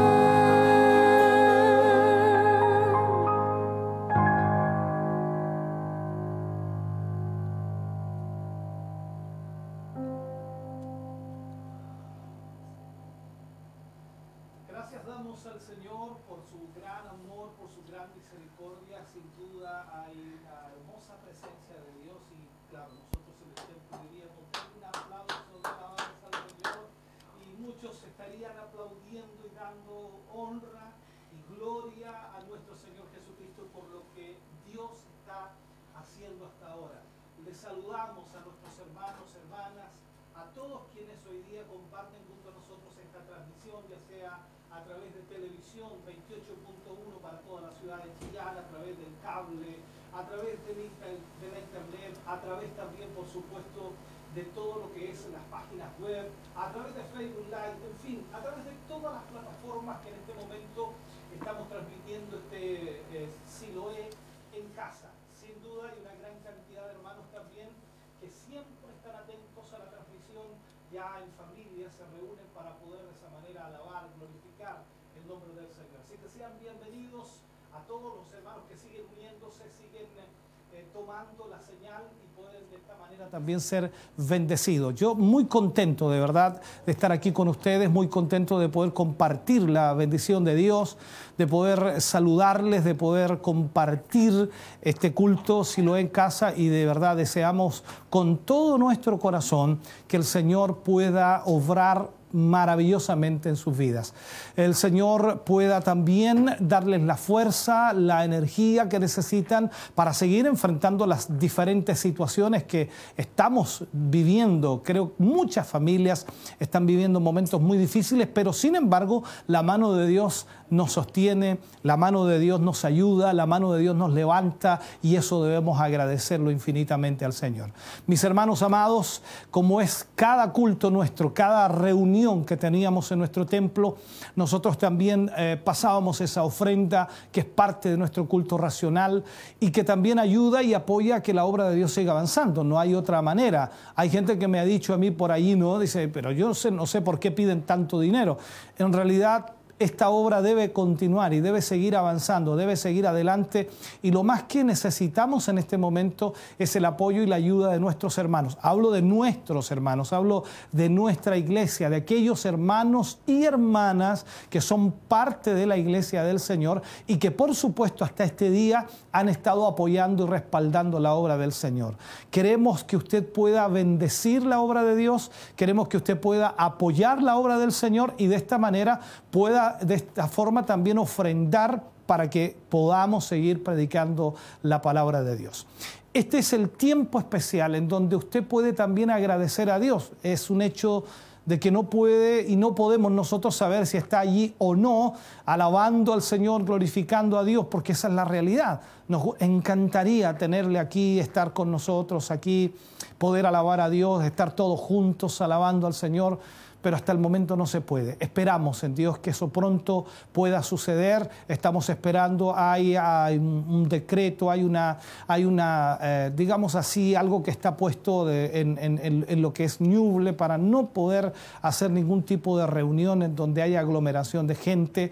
Gracias damos al Señor por su gran amor, por su gran misericordia. Sin duda hay la hermosa presencia de Dios y claro, nosotros en el templo diríamos un aplauso de alabanza al Señor y muchos estarían aplaudiendo y dando honra y gloria a nuestro Señor Jesucristo por lo que Dios está haciendo hasta ahora. Les saludamos a nuestros hermanos, hermanas, a todos quienes hoy día comparten junto a nosotros esta transmisión, ya sea a través de televisión veintiocho punto uno para toda la ciudad de Chillán, a través del cable, a través de la internet, a través también, por supuesto, de todo lo que es las páginas web, a través de Facebook Live, en fin, a través de todas las plataformas que en este momento estamos transmitiendo este eh, Siloé en casa. Sin duda hay una gran cantidad de hermanos también que siempre están atentos a la transmisión, ya en familia se reúnen para poder de esa manera alabar, glorificar el nombre del Señor. Así que sean bienvenidos a todos los hermanos que siguen uniéndose, siguen eh, tomando la señal y pueden de esta manera también ser bendecidos. Yo muy contento de verdad de estar aquí con ustedes, muy contento de poder compartir la bendición de Dios, de poder saludarles, de poder compartir este culto Siloé en casa y de verdad deseamos con todo nuestro corazón que el Señor pueda obrar maravillosamente en sus vidas. El Señor pueda también darles la fuerza, la energía que necesitan para seguir enfrentando las diferentes situaciones que estamos viviendo. Creo que muchas familias están viviendo momentos muy difíciles, pero sin embargo la mano de Dios nos sostiene, la mano de Dios nos ayuda, la mano de Dios nos levanta y eso debemos agradecerlo infinitamente al Señor. Mis hermanos amados, como es cada culto nuestro, cada reunión que teníamos en nuestro templo, nosotros también eh, pasábamos esa ofrenda que es parte de nuestro culto racional y que también ayuda y apoya a que la obra de Dios siga avanzando. No hay otra manera. Hay gente que me ha dicho a mí por ahí, ¿no? Dice, pero yo no sé, no sé por qué piden tanto dinero. En realidad, esta obra debe continuar y debe seguir avanzando, debe seguir adelante y lo más que necesitamos en este momento es el apoyo y la ayuda de nuestros hermanos. Hablo de nuestros hermanos, hablo de nuestra iglesia, de aquellos hermanos y hermanas que son parte de la iglesia del Señor y que por supuesto hasta este día han estado apoyando y respaldando la obra del Señor. Queremos que usted pueda bendecir la obra de Dios, queremos que usted pueda apoyar la obra del Señor y de esta manera pueda de esta forma también ofrendar para que podamos seguir predicando la palabra de Dios. Este es el tiempo especial en donde usted puede también agradecer a Dios. Es un hecho de que no puede y no podemos nosotros saber si está allí o no, alabando al Señor, glorificando a Dios, porque esa es la realidad. Nos encantaría tenerle aquí, estar con nosotros aquí, poder alabar a Dios, estar todos juntos alabando al Señor, pero hasta el momento no se puede. Esperamos en Dios que eso pronto pueda suceder. Estamos esperando, hay, hay un decreto, hay una, hay una eh, digamos así, algo que está puesto de, en, en, en lo que es Ñuble para no poder hacer ningún tipo de reunión en donde haya aglomeración de gente.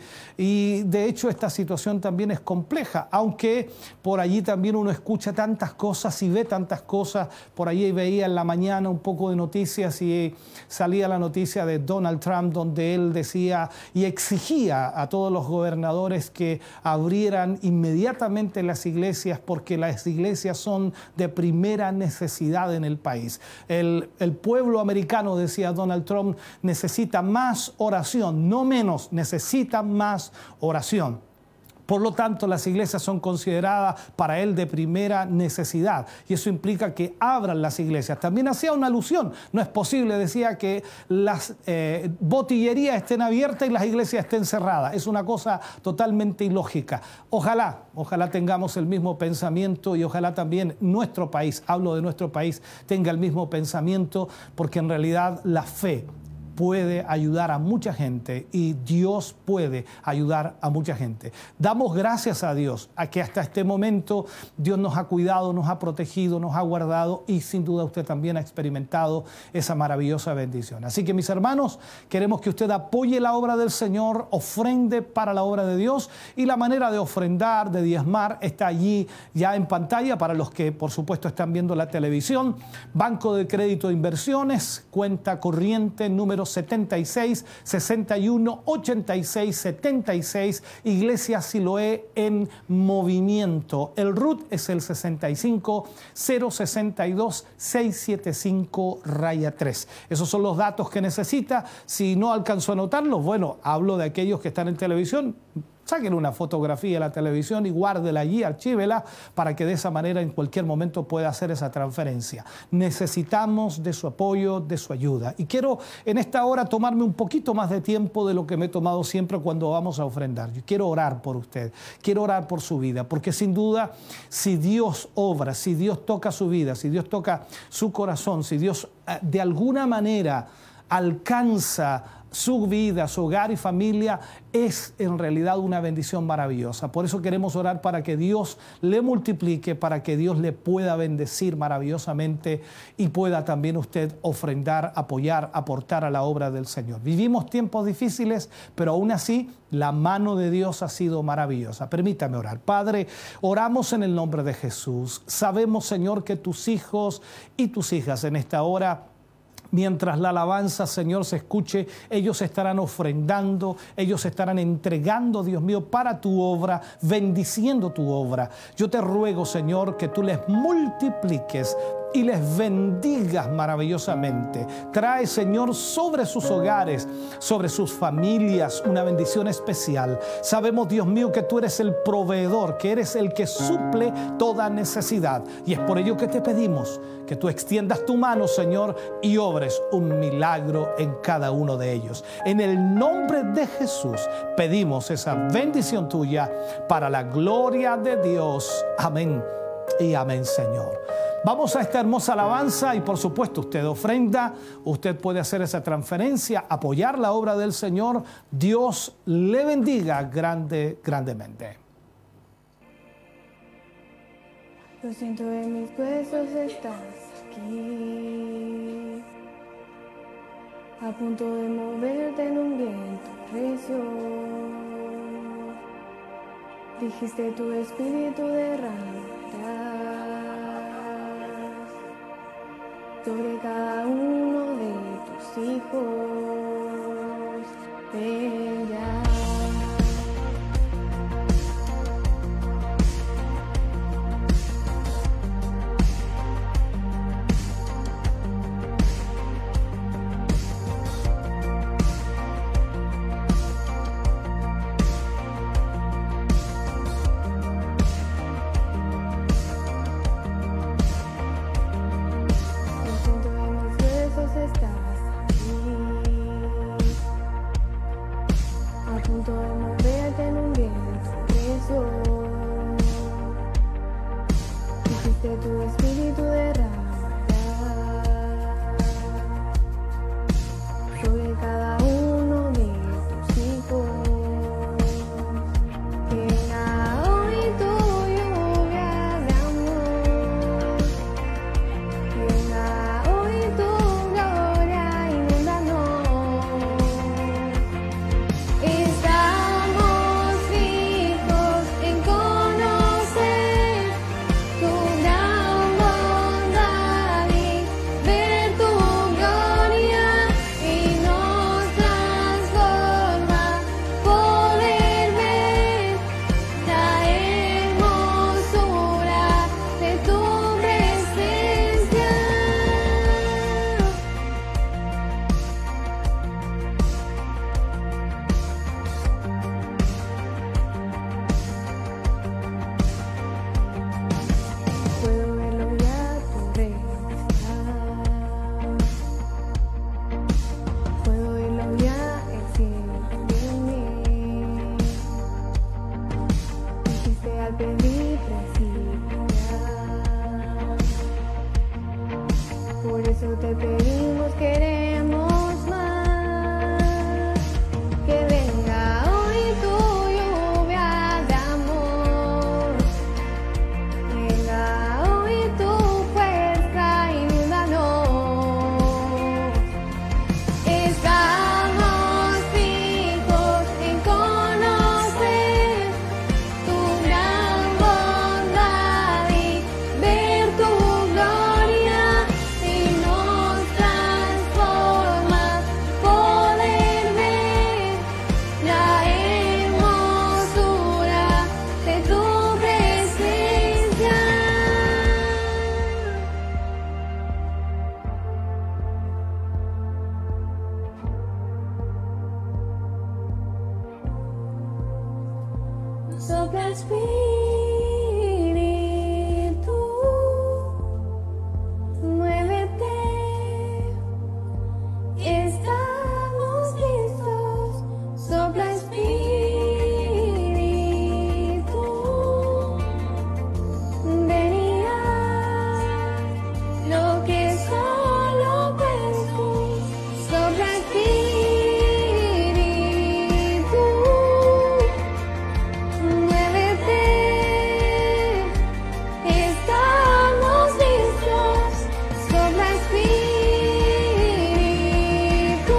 Y de hecho esta situación también es compleja, aunque por allí también uno escucha tantas cosas y ve tantas cosas. Por allí veía en la mañana un poco de noticias y salía la noticia de Donald Trump, donde él decía y exigía a todos los gobernadores que abrieran inmediatamente las iglesias porque las iglesias son de primera necesidad en el país. El, el pueblo americano, decía Donald Trump, necesita más oración, no menos, necesita más oración. Por lo tanto, las iglesias son consideradas para él de primera necesidad. Y eso implica que abran las iglesias. También hacía una alusión. No es posible, decía, que las eh, botillerías estén abiertas y las iglesias estén cerradas. Es una cosa totalmente ilógica. Ojalá, ojalá tengamos el mismo pensamiento y ojalá también nuestro país, hablo de nuestro país, tenga el mismo pensamiento, porque en realidad la fe puede ayudar a mucha gente y Dios puede ayudar a mucha gente. Damos gracias a Dios a que hasta este momento Dios nos ha cuidado, nos ha protegido, nos ha guardado y sin duda usted también ha experimentado esa maravillosa bendición. Así que mis hermanos, queremos que usted apoye la obra del Señor, ofrende para la obra de Dios y la manera de ofrendar, de diezmar, está allí ya en pantalla para los que por supuesto están viendo la televisión. Banco de Crédito de Inversiones, cuenta corriente número setenta y seis, sesenta y uno, ochenta y seis, setenta y seis, Iglesia Siloé en movimiento. El R U T es el sesenta y cinco, cero sesenta y dos, seiscientos setenta y cinco tres. Esos son los datos que necesita. Si no alcanzó a anotarlos, bueno, hablo de aquellos que están en televisión. Saquen una fotografía de la televisión y guárdela allí, archívela, para que de esa manera en cualquier momento pueda hacer esa transferencia. Necesitamos de su apoyo, de su ayuda. Y quiero en esta hora tomarme un poquito más de tiempo de lo que me he tomado siempre cuando vamos a ofrendar. Yo quiero orar por usted, quiero orar por su vida, porque sin duda, si Dios obra, si Dios toca su vida, si Dios toca su corazón, si Dios de alguna manera alcanza su vida, su hogar y familia, es en realidad una bendición maravillosa. Por eso queremos orar para que Dios le multiplique, para que Dios le pueda bendecir maravillosamente y pueda también usted ofrendar, apoyar, aportar a la obra del Señor. Vivimos tiempos difíciles, pero aún así la mano de Dios ha sido maravillosa. Permítame orar. Padre, oramos en el nombre de Jesús. Sabemos, Señor, que tus hijos y tus hijas en esta hora, mientras la alabanza, Señor, se escuche, ellos estarán ofrendando, ellos estarán entregando, Dios mío, para tu obra, bendiciendo tu obra. Yo te ruego, Señor, que tú les multipliques y les bendigas maravillosamente. Trae, Señor, sobre sus hogares, sobre sus familias, una bendición especial. Sabemos, Dios mío, que tú eres el proveedor, que eres el que suple toda necesidad. Y es por ello que te pedimos que tú extiendas tu mano, Señor, y obres un milagro en cada uno de ellos. En el nombre de Jesús pedimos esa bendición tuya para la gloria de Dios. Amén y amén, Señor. Vamos a esta hermosa alabanza y por supuesto usted ofrenda, usted puede hacer esa transferencia, apoyar la obra del Señor. Dios le bendiga grande, grandemente. Lo siento, en mis huesos estás aquí, a punto de moverte en un viento recio. Dijiste tu espíritu derramarás sobre cada uno de tus hijos. Ven ya. Estás aquí, Por eso te pedimos, queremos más. Que venga hoy tu lluvia de amor. Venga hoy tu fuerza, inúndanos. Estamos fijos en conocer tu gran bondad y ver tu gloria, y nos transforma poder ver la hermosura de tu presencia. Sopla Espíritu, muévete, estamos listos. Sopla Espíritu, ven y haz lo que solo puedes tú. Sopla Espíritu, muévete, estamos listos. Sopla Espíritu,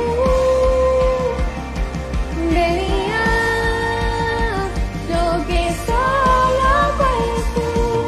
ven y haz lo que solo puedes tú.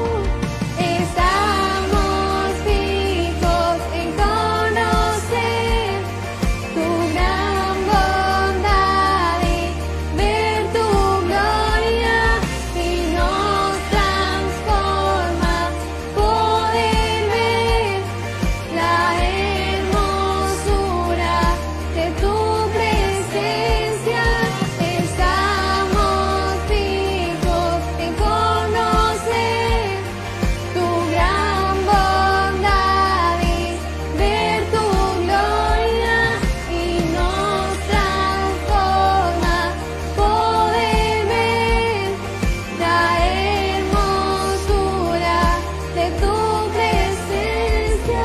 Estamos fijos en conocer tu gran bondad y ver tu gloria, y nos transforma poder ver la hermosura de tu presencia. Estamos fijos en conocer tu gran bondad y ver tu gloria, y nos transforma poder ver la hermosura de tu presencia.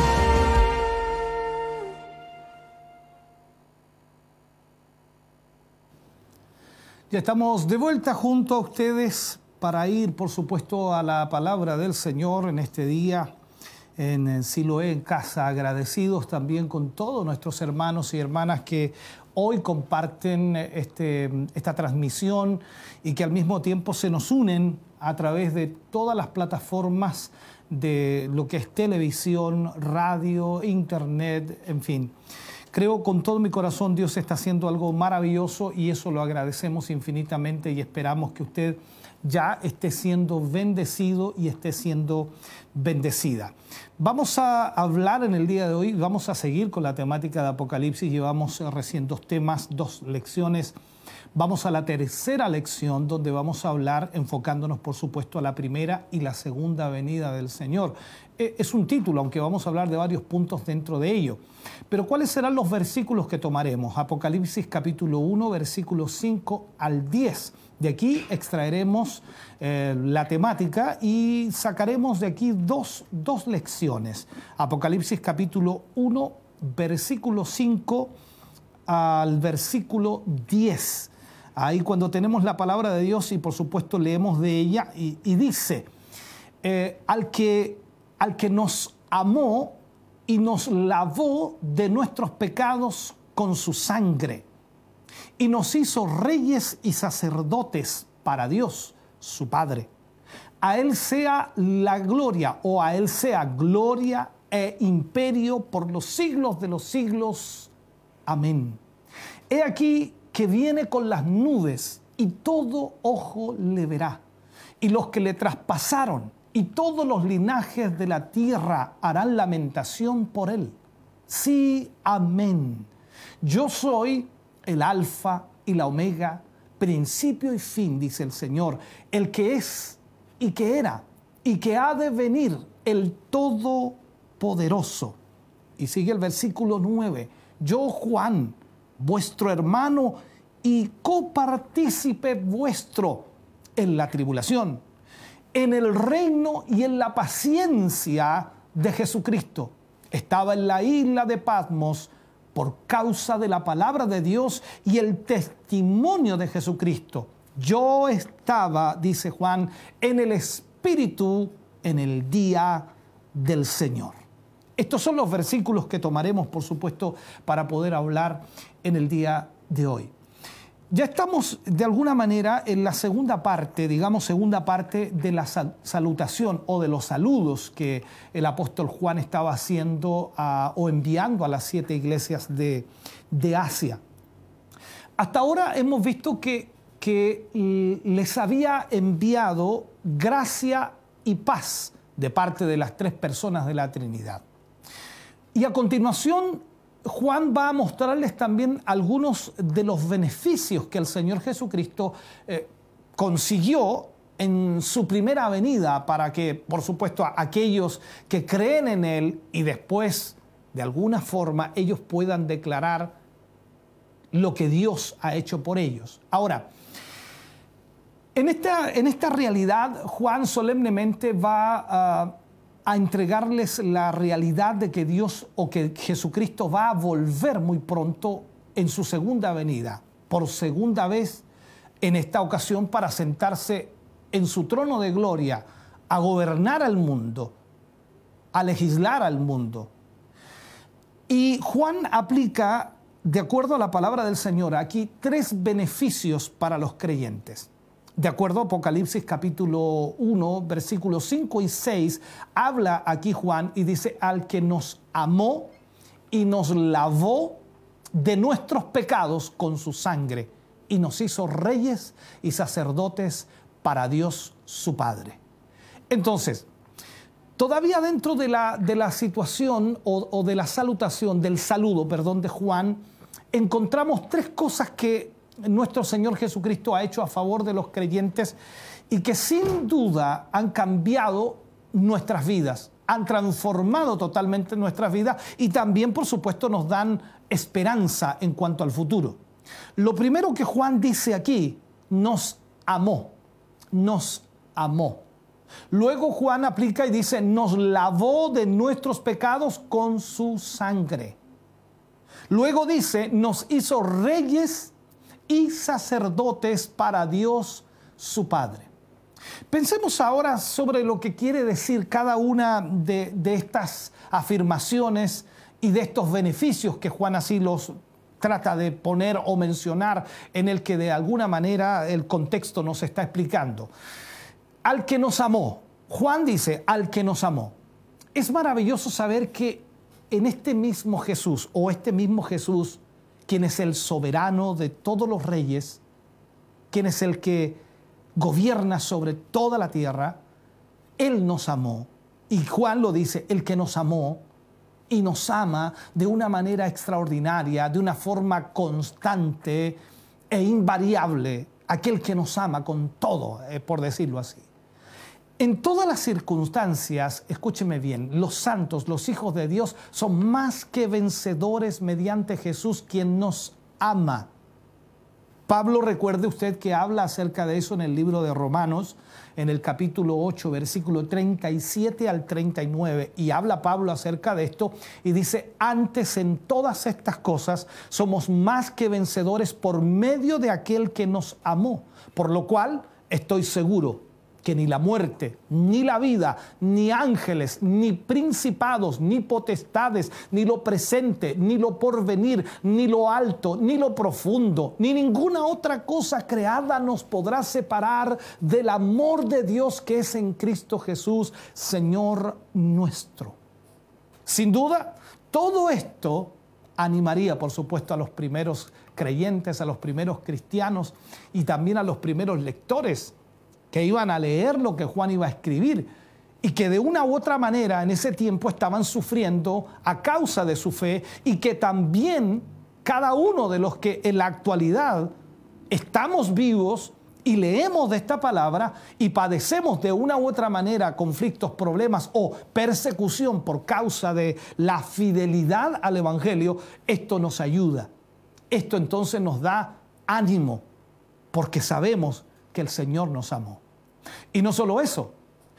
Ya estamos de vuelta junto a ustedes para ir, por supuesto, a la palabra del Señor en este día en Siloé en Casa, agradecidos también con todos nuestros hermanos y hermanas que hoy comparten este, esta transmisión y que al mismo tiempo se nos unen a través de todas las plataformas de lo que es televisión, radio, internet, en fin. Creo con todo mi corazón Dios está haciendo algo maravilloso y eso lo agradecemos infinitamente y esperamos que usted ya esté siendo bendecido y esté siendo bendecida. Vamos a hablar en el día de hoy, vamos a seguir con la temática de Apocalipsis. Llevamos recién dos temas, dos lecciones. Vamos a la tercera lección donde vamos a hablar enfocándonos por supuesto a la primera y la segunda venida del Señor. Es un título, aunque vamos a hablar de varios puntos dentro de ello. Pero ¿cuáles serán los versículos que tomaremos? Apocalipsis capítulo uno, versículos cinco al diez. De aquí extraeremos eh, la temática y sacaremos de aquí dos, dos lecciones. Apocalipsis capítulo uno, versículo cinco al versículo diez. Ahí cuando tenemos la palabra de Dios y por supuesto leemos de ella y, y dice, eh, al, que, al que nos amó y nos lavó de nuestros pecados con su sangre y nos hizo reyes y sacerdotes para Dios, su Padre. A Él sea la gloria, o a Él sea gloria e imperio por los siglos de los siglos. Amén. He aquí que viene con las nubes y todo ojo le verá, y los que le traspasaron y todos los linajes de la tierra harán lamentación por él. Sí, amén. Yo soy el alfa y la omega, principio y fin, dice el Señor, el que es y que era y que ha de venir, el Todopoderoso. Y sigue el versículo nueve. Yo, Juan, vuestro hermano y copartícipe vuestro en la tribulación, en el reino y en la paciencia de Jesucristo, estaba en la isla de Patmos por causa de la palabra de Dios y el testimonio de Jesucristo. Yo estaba, dice Juan, en el Espíritu en el día del Señor. Estos son los versículos que tomaremos, por supuesto, para poder hablar en el día de hoy. Ya estamos, de alguna manera, en la segunda parte, digamos, segunda parte de la salutación o de los saludos que el apóstol Juan estaba haciendo a, o enviando a las siete iglesias de, de Asia. Hasta ahora hemos visto que, que les había enviado gracia y paz de parte de las tres personas de la Trinidad. Y a continuación, Juan va a mostrarles también algunos de los beneficios que el Señor Jesucristo eh, consiguió en su primera venida para que, por supuesto, a aquellos que creen en Él y después, de alguna forma, ellos puedan declarar lo que Dios ha hecho por ellos. Ahora, en esta, en esta realidad, Juan solemnemente va a... a entregarles la realidad de que Dios o que Jesucristo va a volver muy pronto en su segunda venida, por segunda vez en esta ocasión para sentarse en su trono de gloria, a gobernar al mundo, a legislar al mundo. Y Juan aplica, de acuerdo a la palabra del Señor, aquí tres beneficios para los creyentes. De acuerdo a Apocalipsis capítulo uno, versículos cinco y seis, habla aquí Juan y dice, al que nos amó y nos lavó de nuestros pecados con su sangre y nos hizo reyes y sacerdotes para Dios su Padre. Entonces, todavía dentro de la, de la situación o, o de la salutación, del saludo, perdón, de Juan, encontramos tres cosas que nuestro Señor Jesucristo ha hecho a favor de los creyentes y que sin duda han cambiado nuestras vidas, han transformado totalmente nuestras vidas y también, por supuesto, nos dan esperanza en cuanto al futuro. Lo primero que Juan dice aquí, nos amó, nos amó. Luego Juan aplica y dice, nos lavó de nuestros pecados con su sangre. Luego dice, nos hizo reyes y sacerdotes para Dios su Padre. Pensemos ahora sobre lo que quiere decir cada una de, de estas afirmaciones y de estos beneficios que Juan así los trata de poner o mencionar, en el que de alguna manera el contexto nos está explicando. Al que nos amó, Juan dice, al que nos amó. Es maravilloso saber que en este mismo Jesús, o este mismo Jesús, quien es el soberano de todos los reyes, quien es el que gobierna sobre toda la tierra, Él nos amó. Y Juan lo dice, el que nos amó y nos ama de una manera extraordinaria, de una forma constante e invariable, aquel que nos ama con todo, eh, por decirlo así. En todas las circunstancias, escúcheme bien, los santos, los hijos de Dios, son más que vencedores mediante Jesús, quien nos ama. Pablo, recuerde usted que habla acerca de eso en el libro de Romanos, en el capítulo ocho, versículo treinta y siete al treinta y nueve, y habla Pablo acerca de esto y dice, antes en todas estas cosas somos más que vencedores por medio de aquel que nos amó, por lo cual estoy seguro que ni la muerte, ni la vida, ni ángeles, ni principados, ni potestades, ni lo presente, ni lo porvenir, ni lo alto, ni lo profundo, ni ninguna otra cosa creada nos podrá separar del amor de Dios que es en Cristo Jesús, Señor nuestro. Sin duda, todo esto animaría, por supuesto, a los primeros creyentes, a los primeros cristianos y también a los primeros lectores que iban a leer lo que Juan iba a escribir y que de una u otra manera en ese tiempo estaban sufriendo a causa de su fe y que también cada uno de los que en la actualidad estamos vivos y leemos de esta palabra y padecemos de una u otra manera conflictos, problemas o persecución por causa de la fidelidad al Evangelio, esto nos ayuda. Esto entonces nos da ánimo porque sabemos que el Señor nos amó. Y no solo eso,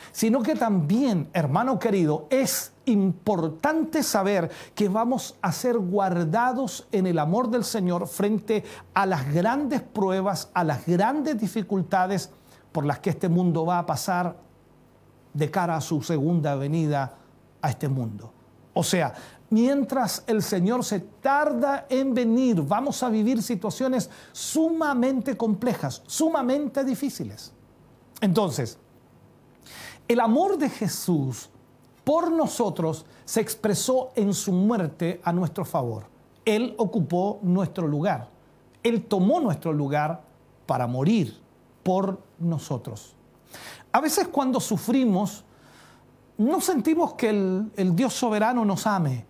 sino que también, hermano querido, es importante saber que vamos a ser guardados en el amor del Señor frente a las grandes pruebas, a las grandes dificultades por las que este mundo va a pasar de cara a su segunda venida a este mundo. O sea, mientras el Señor se tarda en venir, vamos a vivir situaciones sumamente complejas, sumamente difíciles. Entonces, el amor de Jesús por nosotros se expresó en su muerte a nuestro favor. Él ocupó nuestro lugar. Él tomó nuestro lugar para morir por nosotros. A veces cuando sufrimos, no sentimos que el, el Dios soberano nos ame.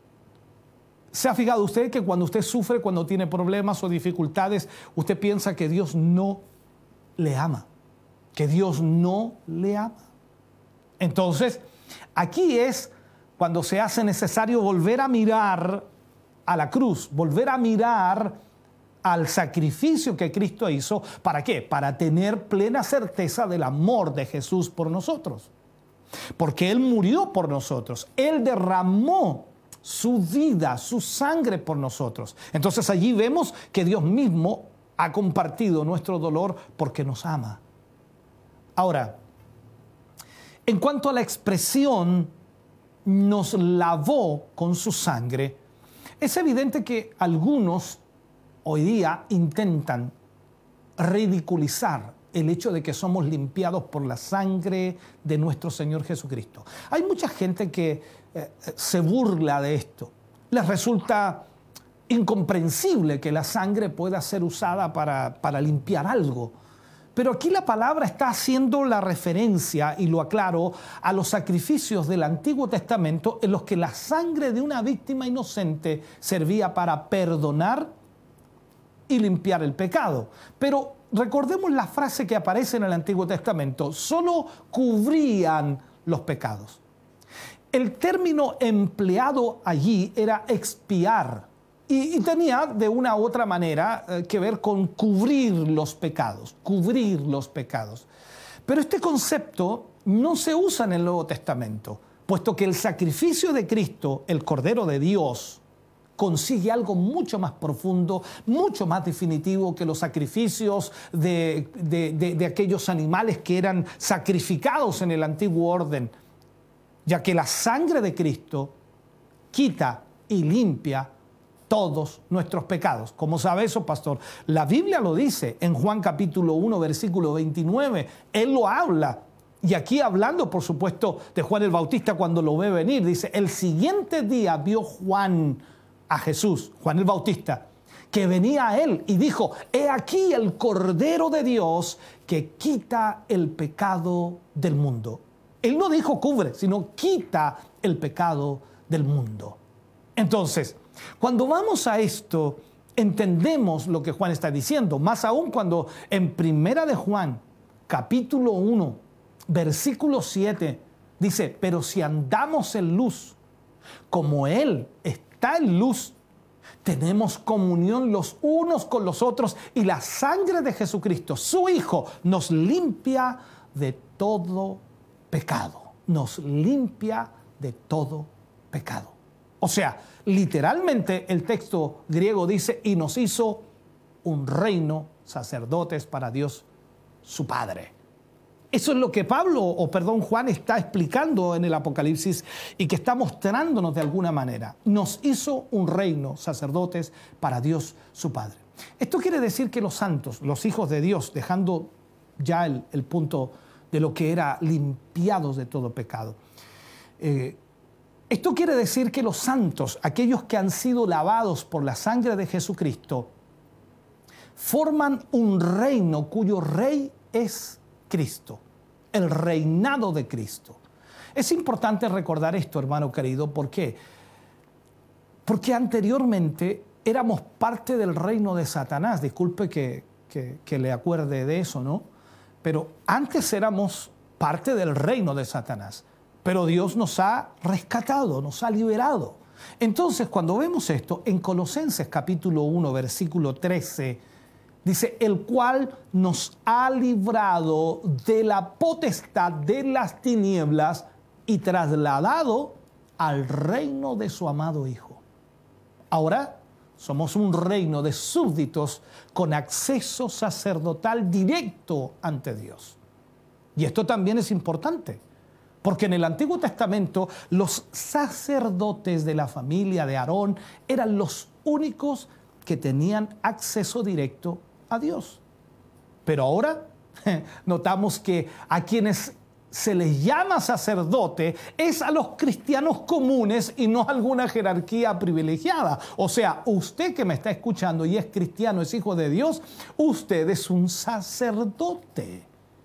¿Se ha fijado usted que cuando usted sufre, cuando tiene problemas o dificultades, usted piensa que Dios no le ama? Que Dios no le ama. Entonces, aquí es cuando se hace necesario volver a mirar a la cruz, volver a mirar al sacrificio que Cristo hizo. ¿Para qué? Para tener plena certeza del amor de Jesús por nosotros. Porque Él murió por nosotros. Él derramó su vida, su sangre por nosotros. Entonces allí vemos que Dios mismo ha compartido nuestro dolor porque nos ama. Ahora, en cuanto a la expresión, nos lavó con su sangre, es evidente que algunos hoy día intentan ridiculizar el hecho de que somos limpiados por la sangre de nuestro Señor Jesucristo. Hay mucha gente que eh, se burla de esto. Les resulta incomprensible que la sangre pueda ser usada para, para limpiar algo. Pero aquí la palabra está haciendo la referencia, y lo aclaro, a los sacrificios del Antiguo Testamento en los que la sangre de una víctima inocente servía para perdonar y limpiar el pecado. Pero recordemos la frase que aparece en el Antiguo Testamento: solo cubrían los pecados. El término empleado allí era expiar. Y, y tenía de una u otra manera eh, que ver con cubrir los pecados, cubrir los pecados. Pero este concepto no se usa en el Nuevo Testamento, puesto que el sacrificio de Cristo, el Cordero de Dios, consigue algo mucho más profundo, mucho más definitivo que los sacrificios de, de, de, de aquellos animales que eran sacrificados en el antiguo orden, ya que la sangre de Cristo quita y limpia todos nuestros pecados. ¿Cómo sabe eso, pastor? La Biblia lo dice en Juan capítulo uno, versículo veintinueve. Él lo habla. Y aquí hablando, por supuesto, de Juan el Bautista cuando lo ve venir, dice: el siguiente día vio Juan a Jesús, Juan el Bautista, que venía a él y dijo: he aquí el Cordero de Dios que quita el pecado del mundo. Él no dijo cubre, sino quita el pecado del mundo. Entonces, cuando vamos a esto, entendemos lo que Juan está diciendo, más aún cuando en Primera de Juan, capítulo uno, versículo siete, dice: pero si andamos en luz, como Él está en luz, tenemos comunión los unos con los otros, y la sangre de Jesucristo, su Hijo, nos limpia de todo pecado. Nos limpia de todo pecado. O sea, literalmente el texto griego dice: y nos hizo un reino, sacerdotes para Dios su Padre. Eso es lo que Pablo, o perdón, Juan está explicando en el Apocalipsis y que está mostrándonos de alguna manera. Nos hizo un reino, sacerdotes para Dios su Padre. Esto quiere decir que los santos, los hijos de Dios, dejando ya el, el punto de lo que era limpiados de todo pecado, eh, esto quiere decir que los santos, aquellos que han sido lavados por la sangre de Jesucristo, forman un reino cuyo rey es Cristo, el reinado de Cristo. Es importante recordar esto, hermano querido. ¿Por qué? Porque anteriormente éramos parte del reino de Satanás. Disculpe que, que, que le acuerde de eso, ¿no? Pero antes éramos parte del reino de Satanás. Pero Dios nos ha rescatado, nos ha liberado. Entonces, cuando vemos esto, en Colosenses capítulo uno, versículo trece, Dice, el cual nos ha librado de la potestad de las tinieblas y trasladado al reino de su amado Hijo. Ahora somos un reino de súbditos con acceso sacerdotal directo ante Dios. Y esto también es importante, porque en el Antiguo Testamento los sacerdotes de la familia de Aarón eran los únicos que tenían acceso directo a Dios. Pero ahora notamos que a quienes se les llama sacerdote es a los cristianos comunes y no a alguna jerarquía privilegiada. O sea, usted que me está escuchando y es cristiano, es hijo de Dios, usted es un sacerdote.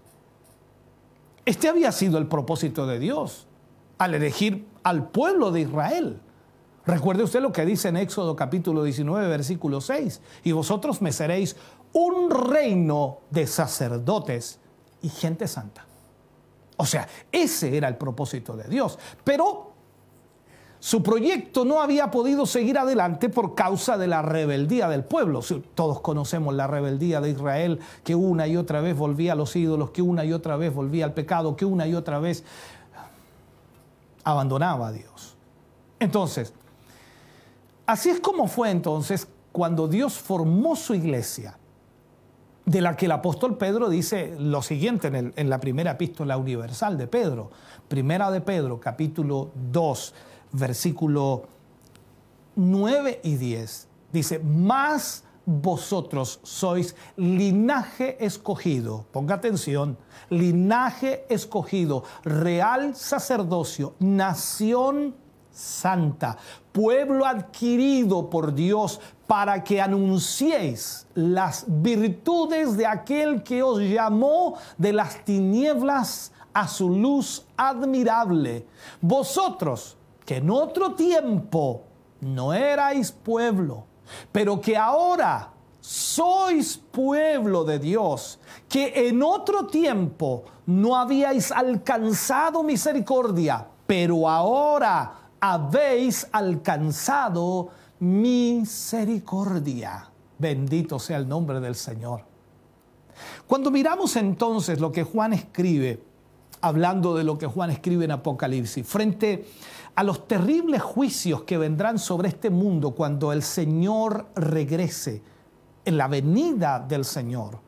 Este había sido el propósito de Dios al elegir al pueblo de Israel. Recuerde usted lo que dice en Éxodo capítulo diecinueve, versículo seis. Y vosotros me seréis un reino de sacerdotes y gente santa. O sea, ese era el propósito de Dios. Pero su proyecto no había podido seguir adelante por causa de la rebeldía del pueblo. Todos conocemos la rebeldía de Israel, que una y otra vez volvía a los ídolos, que una y otra vez volvía al pecado, que una y otra vez abandonaba a Dios. Entonces, así es como fue entonces cuando Dios formó su iglesia, de la que el apóstol Pedro dice lo siguiente en, el, en la primera epístola universal de Pedro. Primera de Pedro, capítulo dos, versículo nueve y diez. Dice, mas vosotros sois linaje escogido. Ponga atención, linaje escogido, real sacerdocio, nación santa, pueblo adquirido por Dios, para que anunciéis las virtudes de aquel que os llamó de las tinieblas a su luz admirable. Vosotros, que en otro tiempo no erais pueblo, pero que ahora sois pueblo de Dios, que en otro tiempo no habíais alcanzado misericordia, pero ahora habéis alcanzado misericordia. Bendito sea el nombre del Señor. Cuando miramos entonces lo que Juan escribe, hablando de lo que Juan escribe en Apocalipsis, frente a los terribles juicios que vendrán sobre este mundo cuando el Señor regrese, en la venida del Señor,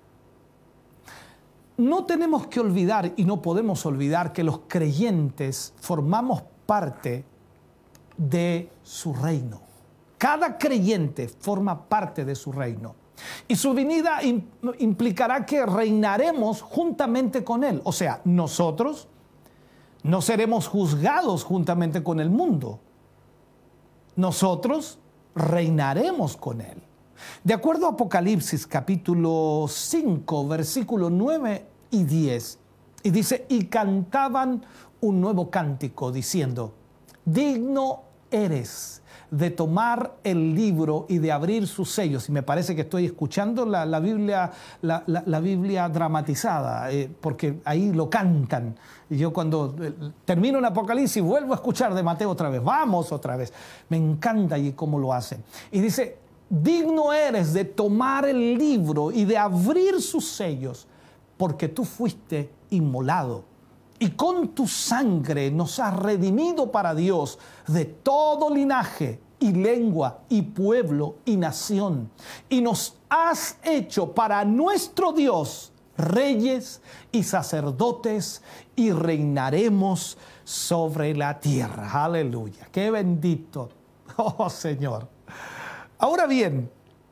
no tenemos que olvidar y no podemos olvidar que los creyentes formamos parte de su reino. Cada creyente forma parte de su reino. Y su venida implicará que reinaremos juntamente con Él. O sea, nosotros no seremos juzgados juntamente con el mundo. Nosotros reinaremos con Él. De acuerdo a Apocalipsis capítulo cinco, versículos nueve y diez, y dice, y cantaban un nuevo cántico diciendo, digno eres de tomar el libro y de abrir sus sellos. Y me parece que estoy escuchando la, la, Biblia, la, la, la Biblia dramatizada, eh, porque ahí lo cantan. Y yo cuando eh, termino en Apocalipsis vuelvo a escuchar de Mateo otra vez. Vamos otra vez. Me encanta allí cómo lo hacen. Y dice, digno eres de tomar el libro y de abrir sus sellos, porque tú fuiste inmolado. Y con tu sangre nos has redimido para Dios de todo linaje y lengua y pueblo y nación. Y nos has hecho para nuestro Dios reyes y sacerdotes y reinaremos sobre la tierra. Aleluya. Qué bendito. Oh Señor. Ahora bien,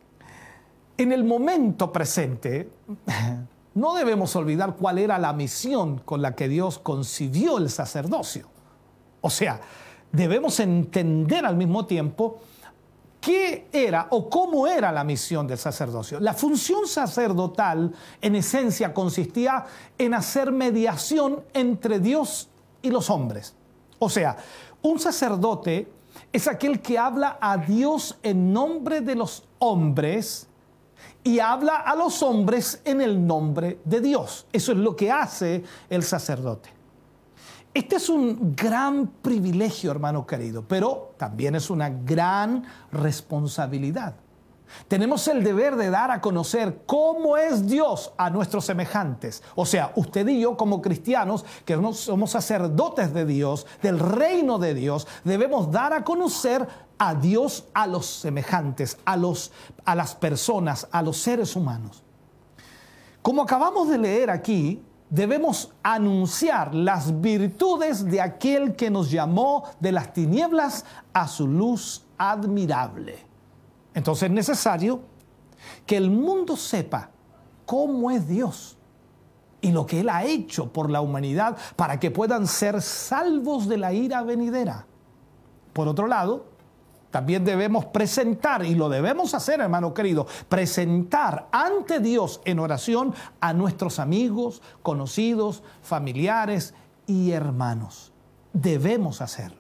en el momento presente, no debemos olvidar cuál era la misión con la que Dios concibió el sacerdocio. O sea, debemos entender al mismo tiempo qué era o cómo era la misión del sacerdocio. La función sacerdotal, en esencia, consistía en hacer mediación entre Dios y los hombres. O sea, un sacerdote es aquel que habla a Dios en nombre de los hombres y habla a los hombres en el nombre de Dios. Eso es lo que hace el sacerdote. Este es un gran privilegio, hermano querido, pero también es una gran responsabilidad. Tenemos el deber de dar a conocer cómo es Dios a nuestros semejantes. O sea, usted y yo como cristianos, que no somos sacerdotes de Dios, del reino de Dios, debemos dar a conocer a Dios a los semejantes, a, los, a las personas, a los seres humanos. Como acabamos de leer aquí, debemos anunciar las virtudes de aquel que nos llamó de las tinieblas a su luz admirable. Entonces es necesario que el mundo sepa cómo es Dios y lo que Él ha hecho por la humanidad para que puedan ser salvos de la ira venidera. Por otro lado, también debemos presentar, y lo debemos hacer, hermano querido, presentar ante Dios en oración a nuestros amigos, conocidos, familiares y hermanos. Debemos hacerlo.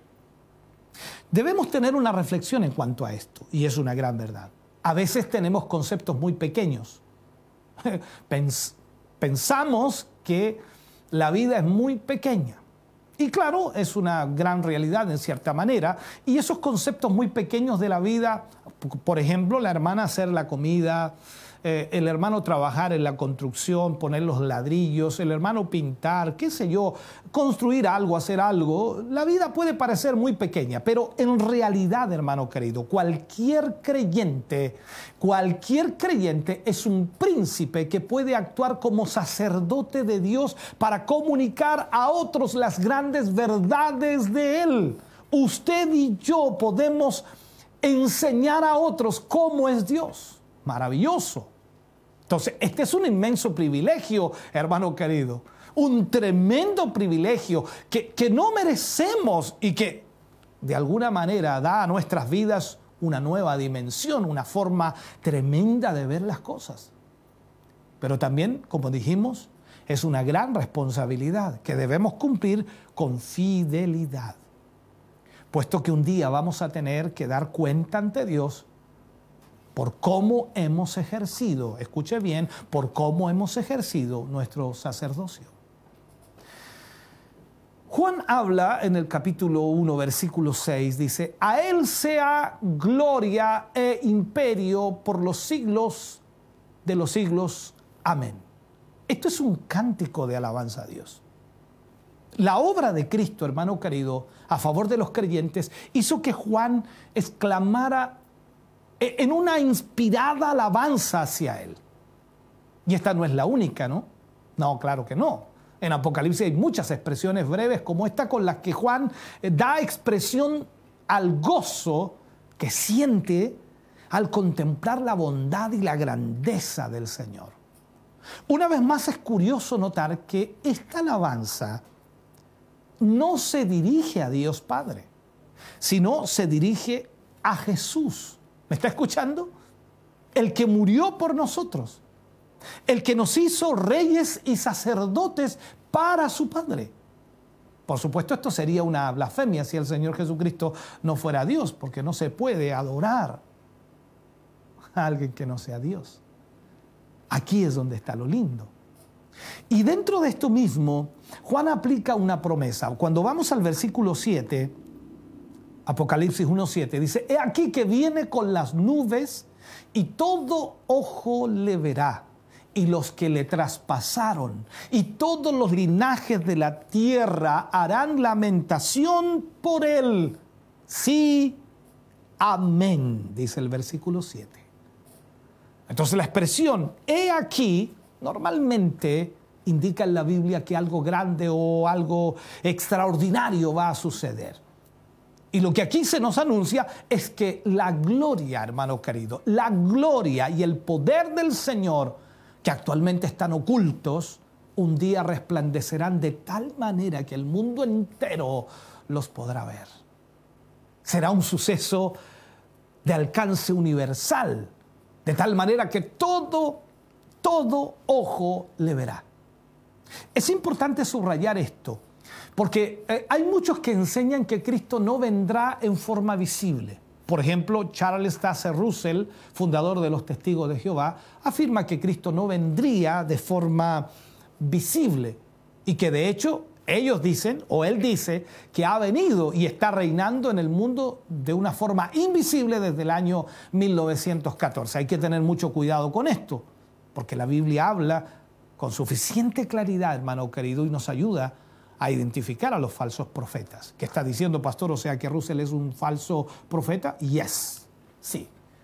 Debemos tener una reflexión en cuanto a esto, y es una gran verdad. A veces tenemos conceptos muy pequeños. Pens- pensamos que la vida es muy pequeña. Y claro, es una gran realidad en cierta manera. Y esos conceptos muy pequeños de la vida, por ejemplo, la hermana hacer la comida, eh, el hermano trabajar en la construcción, poner los ladrillos, el hermano pintar, qué sé yo, construir algo, hacer algo. La vida puede parecer muy pequeña, pero en realidad, hermano querido, cualquier creyente, cualquier creyente es un príncipe que puede actuar como sacerdote de Dios para comunicar a otros las grandes verdades de Él. Usted y yo podemos enseñar a otros cómo es Dios. Maravilloso. Entonces, este es un inmenso privilegio, hermano querido. Un tremendo privilegio que, que no merecemos y que de alguna manera da a nuestras vidas una nueva dimensión, una forma tremenda de ver las cosas. Pero también, como dijimos, es una gran responsabilidad que debemos cumplir con fidelidad, puesto que un día vamos a tener que dar cuenta ante Dios por cómo hemos ejercido, escuche bien, por cómo hemos ejercido nuestro sacerdocio. Juan habla en el capítulo uno, versículo seis, dice, a Él sea gloria e imperio por los siglos de los siglos. Amén. Esto es un cántico de alabanza a Dios. La obra de Cristo, hermano querido, a favor de los creyentes, hizo que Juan exclamara en una inspirada alabanza hacia Él. Y esta no es la única, ¿no? No, claro que no. En Apocalipsis hay muchas expresiones breves como esta con las que Juan da expresión al gozo que siente al contemplar la bondad y la grandeza del Señor. Una vez más es curioso notar que esta alabanza no se dirige a Dios Padre, sino se dirige a Jesús. ¿Me está escuchando? El que murió por nosotros, el que nos hizo reyes y sacerdotes para su Padre. Por supuesto, esto sería una blasfemia si el Señor Jesucristo no fuera Dios, porque no se puede adorar a alguien que no sea Dios. Aquí es donde está lo lindo. Y dentro de esto mismo, Juan aplica una promesa. Cuando vamos al versículo siete, Apocalipsis uno siete, dice, he aquí que viene con las nubes y todo ojo le verá, y los que le traspasaron, y todos los linajes de la tierra harán lamentación por él. Sí, amén, dice el versículo siete. Entonces la expresión, he aquí, normalmente indica en la Biblia que algo grande o algo extraordinario va a suceder. Y lo que aquí se nos anuncia es que la gloria, hermano querido, la gloria y el poder del Señor, que actualmente están ocultos, un día resplandecerán de tal manera que el mundo entero los podrá ver. Será un suceso de alcance universal, de tal manera que todo, todo ojo le verá. Es importante subrayar esto, porque eh, hay muchos que enseñan que Cristo no vendrá en forma visible. Por ejemplo, Charles Taze Russell, fundador de los Testigos de Jehová, afirma que Cristo no vendría de forma visible y que de hecho Ellos dicen, o él dice, que ha venido y está reinando en el mundo de una forma invisible desde el año mil novecientos catorce. Hay que tener mucho cuidado con esto, porque la Biblia habla con suficiente claridad, hermano querido, y nos ayuda a identificar a los falsos profetas. ¿Qué está diciendo, pastor? O sea, que Russell es un falso profeta. Yes, sí.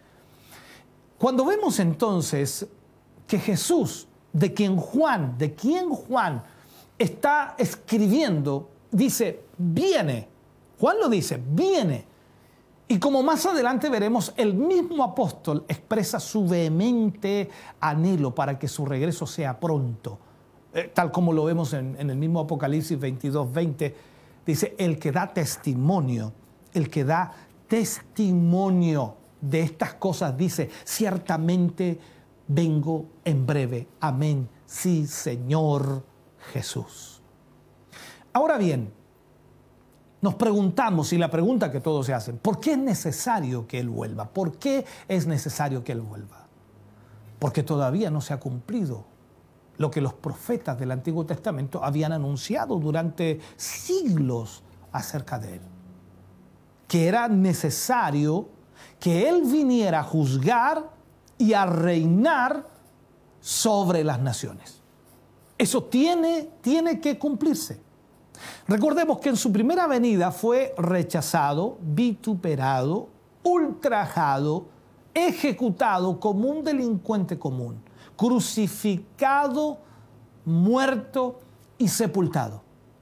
Cuando vemos entonces que Jesús, de quien Juan, de quien Juan está escribiendo, dice, viene. Juan lo dice, viene. Y como más adelante veremos, el mismo apóstol expresa su vehemente anhelo para que su regreso sea pronto. Eh, tal como lo vemos en, en el mismo Apocalipsis veintidós veinte, dice, el que da testimonio, el que da testimonio de estas cosas, dice, ciertamente vengo en breve. Amén. Sí, Señor Jesús. Ahora bien, nos preguntamos, y la pregunta que todos se hacen, ¿por qué es necesario que Él vuelva? ¿Por qué es necesario que Él vuelva? Porque todavía no se ha cumplido lo que los profetas del Antiguo Testamento habían anunciado durante siglos acerca de Él. Que era necesario que Él viniera a juzgar y a reinar sobre las naciones. Eso tiene, tiene que cumplirse. Recordemos que en su primera venida fue rechazado, vituperado, ultrajado, ejecutado como un delincuente común, crucificado, muerto y sepultado.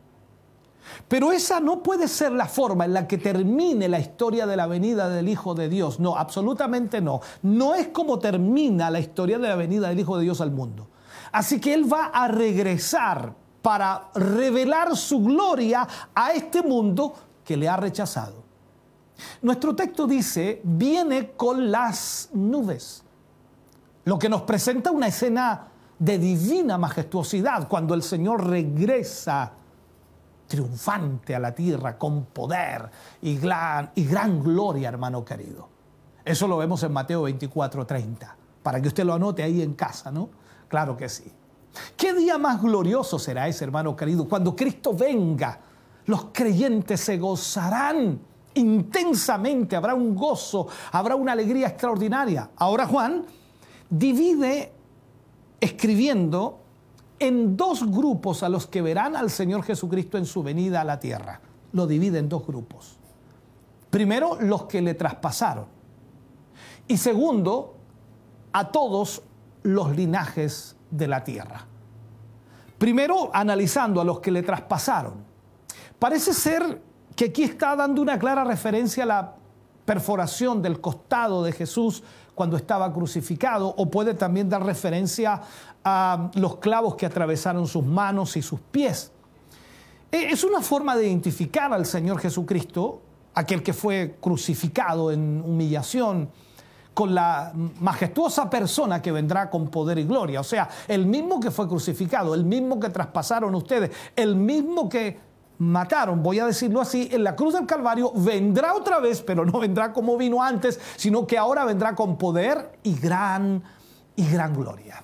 Pero esa no puede ser la forma en la que termine la historia de la venida del Hijo de Dios. No, absolutamente no. No es como termina la historia de la venida del Hijo de Dios al mundo. Así que Él va a regresar para revelar su gloria a este mundo que le ha rechazado. Nuestro texto dice, viene con las nubes, lo que nos presenta una escena de divina majestuosidad cuando el Señor regresa triunfante a la tierra con poder y gran, y gran gloria, hermano querido. Eso lo vemos en Mateo veinticuatro treinta, para que usted lo anote ahí en casa, ¿no? Claro que sí. ¿Qué día más glorioso será ese, hermano querido? Cuando Cristo venga, los creyentes se gozarán intensamente, habrá un gozo, habrá una alegría extraordinaria. Ahora Juan divide, escribiendo, en dos grupos a los que verán al Señor Jesucristo en su venida a la tierra. Lo divide en dos grupos. Primero, los que le traspasaron. Y segundo, a todos los linajes de la tierra. Primero, analizando a los que le traspasaron. Parece ser que aquí está dando una clara referencia a la perforación del costado de Jesús cuando estaba crucificado, o puede también dar referencia a los clavos que atravesaron sus manos y sus pies. Es una forma de identificar al Señor Jesucristo, aquel que fue crucificado en humillación, con la majestuosa persona que vendrá con poder y gloria. O sea, el mismo que fue crucificado, el mismo que traspasaron ustedes, el mismo que mataron, voy a decirlo así, en la cruz del Calvario, vendrá otra vez, pero no vendrá como vino antes, sino que ahora vendrá con poder y gran, y gran gloria.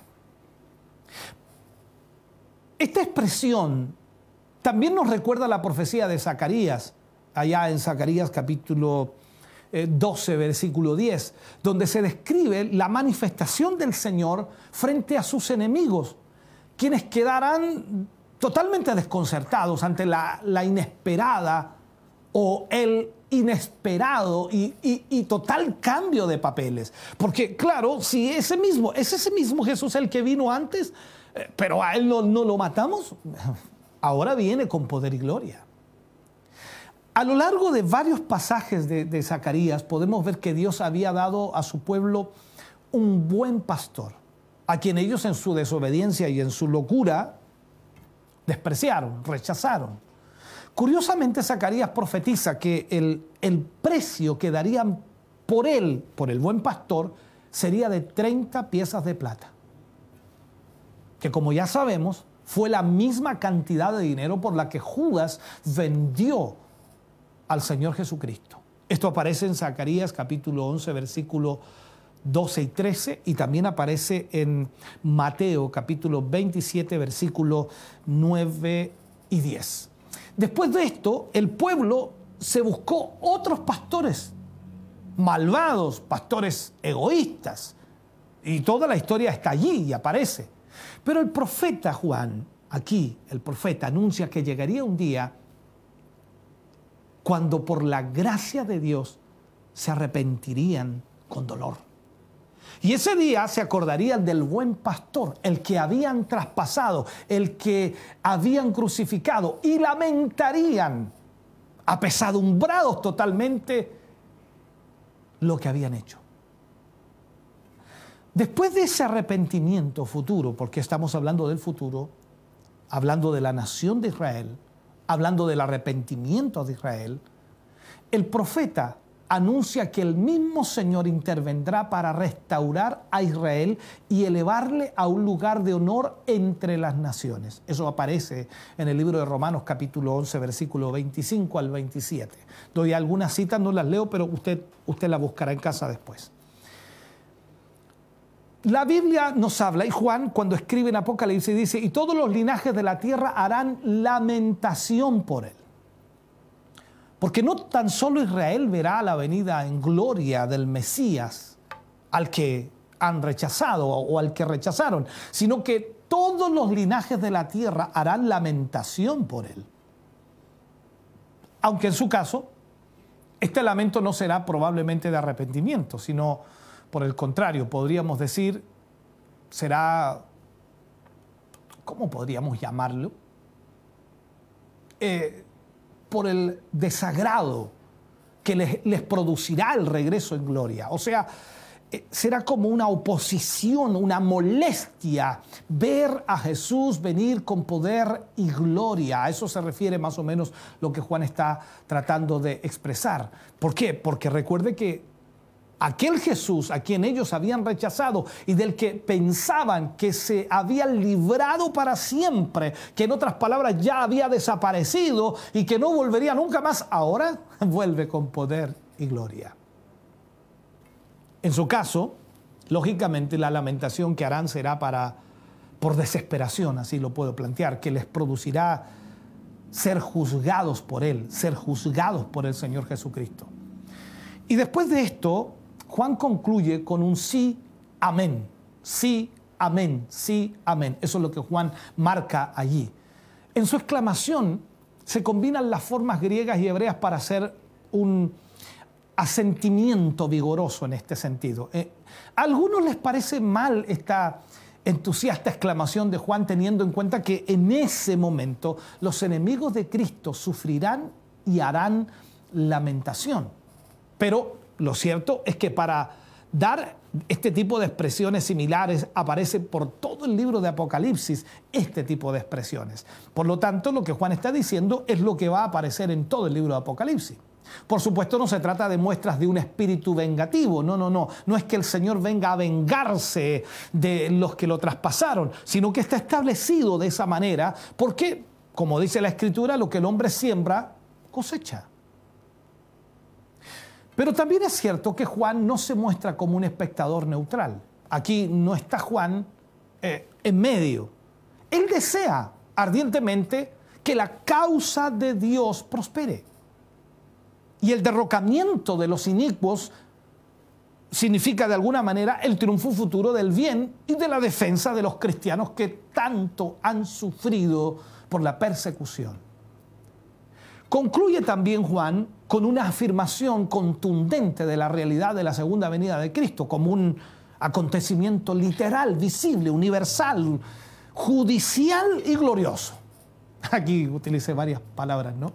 Esta expresión también nos recuerda la profecía de Zacarías, allá en Zacarías capítulo doce, versículo diez, donde se describe la manifestación del Señor frente a sus enemigos, quienes quedarán totalmente desconcertados ante la, la inesperada o el inesperado y, y, y total cambio de papeles. Porque claro, si ese mismo, es ese mismo Jesús el que vino antes, eh, pero a Él no, no lo matamos, ahora viene con poder y gloria. A lo largo de varios pasajes de, de Zacarías podemos ver que Dios había dado a su pueblo un buen pastor, a quien ellos en su desobediencia y en su locura despreciaron, rechazaron. Curiosamente, Zacarías profetiza que el, el precio que darían por él, por el buen pastor, sería de treinta piezas de plata, que como ya sabemos, fue la misma cantidad de dinero por la que Judas vendió al Señor Jesucristo. Esto aparece en Zacarías capítulo once, versículo doce y trece, y también aparece en Mateo capítulo veintisiete, versículo nueve y diez. Después de esto, el pueblo se buscó otros pastores malvados, pastores egoístas, y toda la historia está allí y aparece. Pero el profeta Juan, aquí el profeta anuncia que llegaría un día cuando por la gracia de Dios se arrepentirían con dolor. Y ese día se acordarían del buen pastor, el que habían traspasado, el que habían crucificado, y lamentarían, apesadumbrados totalmente, lo que habían hecho. Después de ese arrepentimiento futuro, porque estamos hablando del futuro, hablando de la nación de Israel, hablando del arrepentimiento de Israel, el profeta anuncia que el mismo Señor intervendrá para restaurar a Israel y elevarle a un lugar de honor entre las naciones. Eso aparece en el libro de Romanos capítulo once, versículo veinticinco al veintisiete. Doy algunas citas, no las leo, pero usted, usted las buscará en casa después. La Biblia nos habla, y Juan cuando escribe en Apocalipsis dice, y todos los linajes de la tierra harán lamentación por él. Porque no tan solo Israel verá la venida en gloria del Mesías al que han rechazado o al que rechazaron, sino que todos los linajes de la tierra harán lamentación por él. Aunque en su caso, este lamento no será probablemente de arrepentimiento, sino por el contrario, podríamos decir, será, ¿cómo podríamos llamarlo? Eh, por el desagrado que les, les producirá el regreso en gloria. O sea, eh, será como una oposición, una molestia ver a Jesús venir con poder y gloria. A eso se refiere más o menos lo que Juan está tratando de expresar. ¿Por qué? Porque recuerde que aquel Jesús a quien ellos habían rechazado y del que pensaban que se había librado para siempre, que en otras palabras ya había desaparecido y que no volvería nunca más, ahora vuelve con poder y gloria. En su caso, lógicamente la lamentación que harán será para, por desesperación, así lo puedo plantear, que les producirá ser juzgados por Él, ser juzgados por el Señor Jesucristo. Y después de esto, Juan concluye con un sí, amén, sí, amén, sí, amén. Eso es lo que Juan marca allí. En su exclamación se combinan las formas griegas y hebreas para hacer un asentimiento vigoroso en este sentido. Eh, a algunos les parece mal esta entusiasta exclamación de Juan, teniendo en cuenta que en ese momento los enemigos de Cristo sufrirán y harán lamentación. Pero lo cierto es que para dar este tipo de expresiones similares aparece por todo el libro de Apocalipsis este tipo de expresiones. Por lo tanto, lo que Juan está diciendo es lo que va a aparecer en todo el libro de Apocalipsis. Por supuesto, no se trata de muestras de un espíritu vengativo. No, no, no. No es que el Señor venga a vengarse de los que lo traspasaron, sino que está establecido de esa manera porque, como dice la Escritura, lo que el hombre siembra, cosecha. Pero también es cierto que Juan no se muestra como un espectador neutral. Aquí no está Juan eh, en medio. Él desea ardientemente que la causa de Dios prospere. Y el derrocamiento de los inicuos significa de alguna manera el triunfo futuro del bien y de la defensa de los cristianos que tanto han sufrido por la persecución. Concluye también Juan con una afirmación contundente de la realidad de la segunda venida de Cristo como un acontecimiento literal, visible, universal, judicial y glorioso. Aquí utilicé varias palabras, ¿no?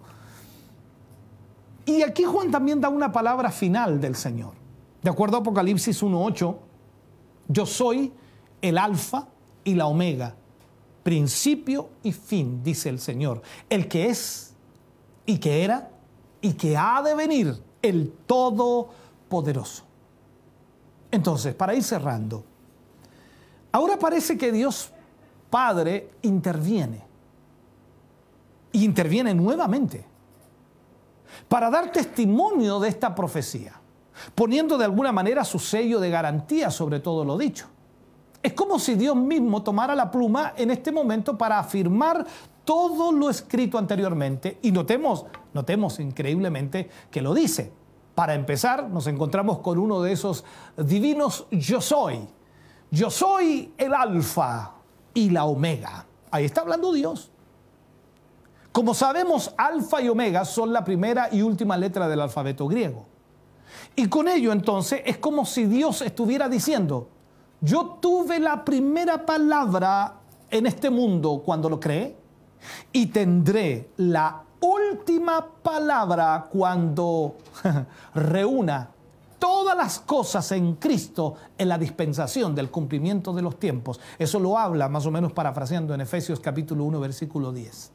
Y aquí Juan también da una palabra final del Señor. De acuerdo a Apocalipsis uno ocho, yo soy el alfa y la omega, principio y fin, dice el Señor, el que es y que era y que ha de venir, el Todopoderoso. Entonces, para ir cerrando, ahora parece que Dios Padre interviene. Y interviene nuevamente para dar testimonio de esta profecía, poniendo de alguna manera su sello de garantía sobre todo lo dicho. Es como si Dios mismo tomara la pluma en este momento para afirmar todo lo escrito anteriormente, y notemos, notemos increíblemente que lo dice. Para empezar, nos encontramos con uno de esos divinos yo soy. Yo soy el alfa y la omega. Ahí está hablando Dios. Como sabemos, alfa y omega son la primera y última letra del alfabeto griego. Y con ello, entonces, es como si Dios estuviera diciendo, yo tuve la primera palabra en este mundo cuando lo creé y tendré la última palabra cuando reúna todas las cosas en Cristo en la dispensación del cumplimiento de los tiempos. Eso lo habla más o menos parafraseando en Efesios capítulo uno, versículo diez.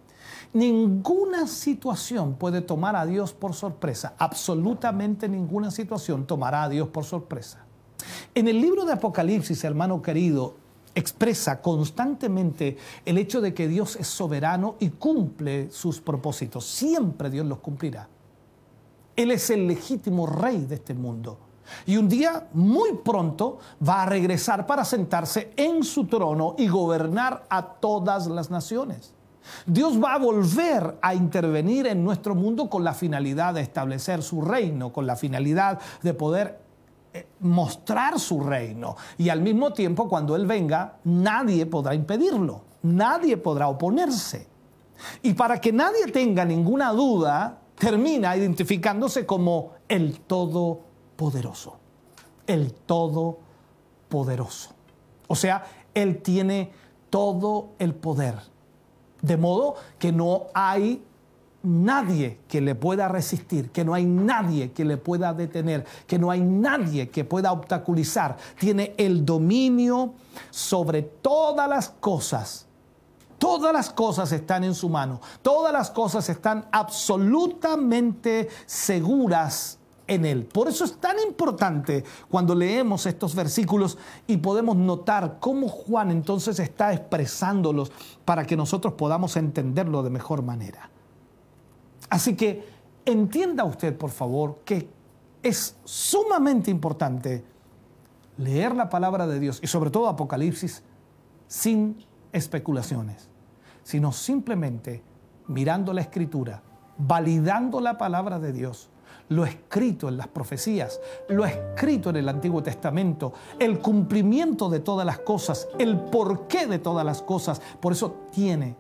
Ninguna situación puede tomar a Dios por sorpresa. Absolutamente ninguna situación tomará a Dios por sorpresa. En el libro de Apocalipsis, hermano querido, expresa constantemente el hecho de que Dios es soberano y cumple sus propósitos. Siempre Dios los cumplirá. Él es el legítimo rey de este mundo. Y un día, muy pronto, va a regresar para sentarse en su trono y gobernar a todas las naciones. Dios va a volver a intervenir en nuestro mundo con la finalidad de establecer su reino, con la finalidad de poder mostrar su reino. Y al mismo tiempo, cuando Él venga, nadie podrá impedirlo, nadie podrá oponerse. Y para que nadie tenga ninguna duda, termina identificándose como el Todopoderoso. El Todopoderoso. O sea, Él tiene todo el poder. De modo que no hay nadie que le pueda resistir, que no hay nadie que le pueda detener, que no hay nadie que pueda obstaculizar. Tiene el dominio sobre todas las cosas. Todas las cosas están en su mano. Todas las cosas están absolutamente seguras en Él. Por eso es tan importante cuando leemos estos versículos y podemos notar cómo Juan entonces está expresándolos para que nosotros podamos entenderlo de mejor manera. Así que entienda usted, por favor, que es sumamente importante leer la palabra de Dios y sobre todo Apocalipsis sin especulaciones, sino simplemente mirando la Escritura, validando la palabra de Dios, lo escrito en las profecías, lo escrito en el Antiguo Testamento, el cumplimiento de todas las cosas, el porqué de todas las cosas. Por eso tiene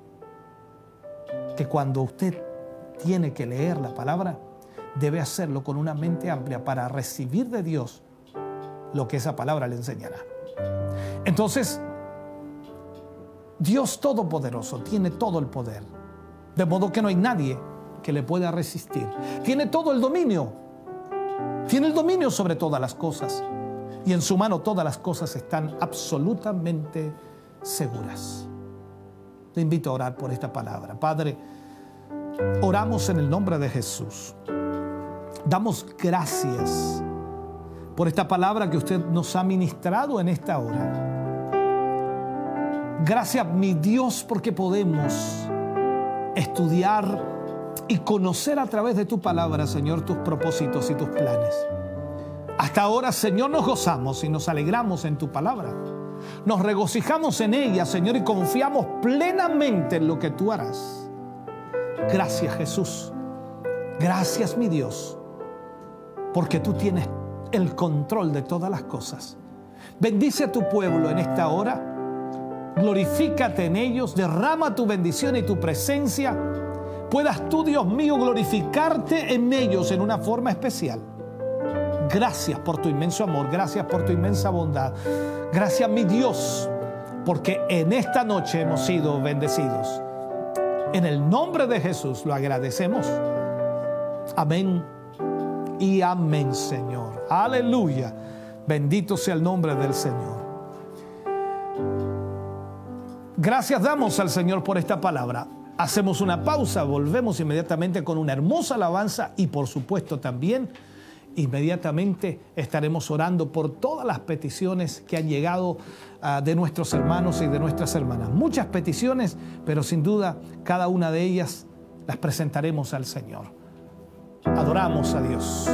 que cuando usted tiene que leer la palabra, debe hacerlo con una mente amplia para recibir de Dios lo que esa palabra le enseñará. Entonces, Dios Todopoderoso tiene todo el poder, de modo que no hay nadie que le pueda resistir. Tiene todo el dominio, tiene el dominio sobre todas las cosas, y en su mano todas las cosas están absolutamente seguras. Le invito a orar por esta palabra. Padre, oramos en el nombre de Jesús. Damos gracias por esta palabra que usted nos ha ministrado en esta hora. Gracias, mi Dios, porque podemos estudiar y conocer a través de tu palabra, Señor, tus propósitos y tus planes. Hasta ahora, Señor, nos gozamos y nos alegramos en tu palabra. Nos regocijamos en ella, Señor, y confiamos plenamente en lo que tú harás. Gracias, Jesús. Gracias, mi Dios, porque tú tienes el control de todas las cosas. Bendice a tu pueblo en esta hora. Glorifícate en ellos. Derrama tu bendición y tu presencia. Puedas tú, Dios mío, glorificarte en ellos en una forma especial. Gracias por tu inmenso amor. Gracias por tu inmensa bondad. Gracias, mi Dios, porque en esta noche hemos sido bendecidos. En el nombre de Jesús lo agradecemos. Amén y amén, Señor. Aleluya. Bendito sea el nombre del Señor. Gracias damos al Señor por esta palabra. Hacemos una pausa, volvemos inmediatamente con una hermosa alabanza y por supuesto también inmediatamente estaremos orando por todas las peticiones que han llegado uh, de nuestros hermanos y de nuestras hermanas. Muchas peticiones, pero sin duda cada una de ellas las presentaremos al Señor. Adoramos a Dios.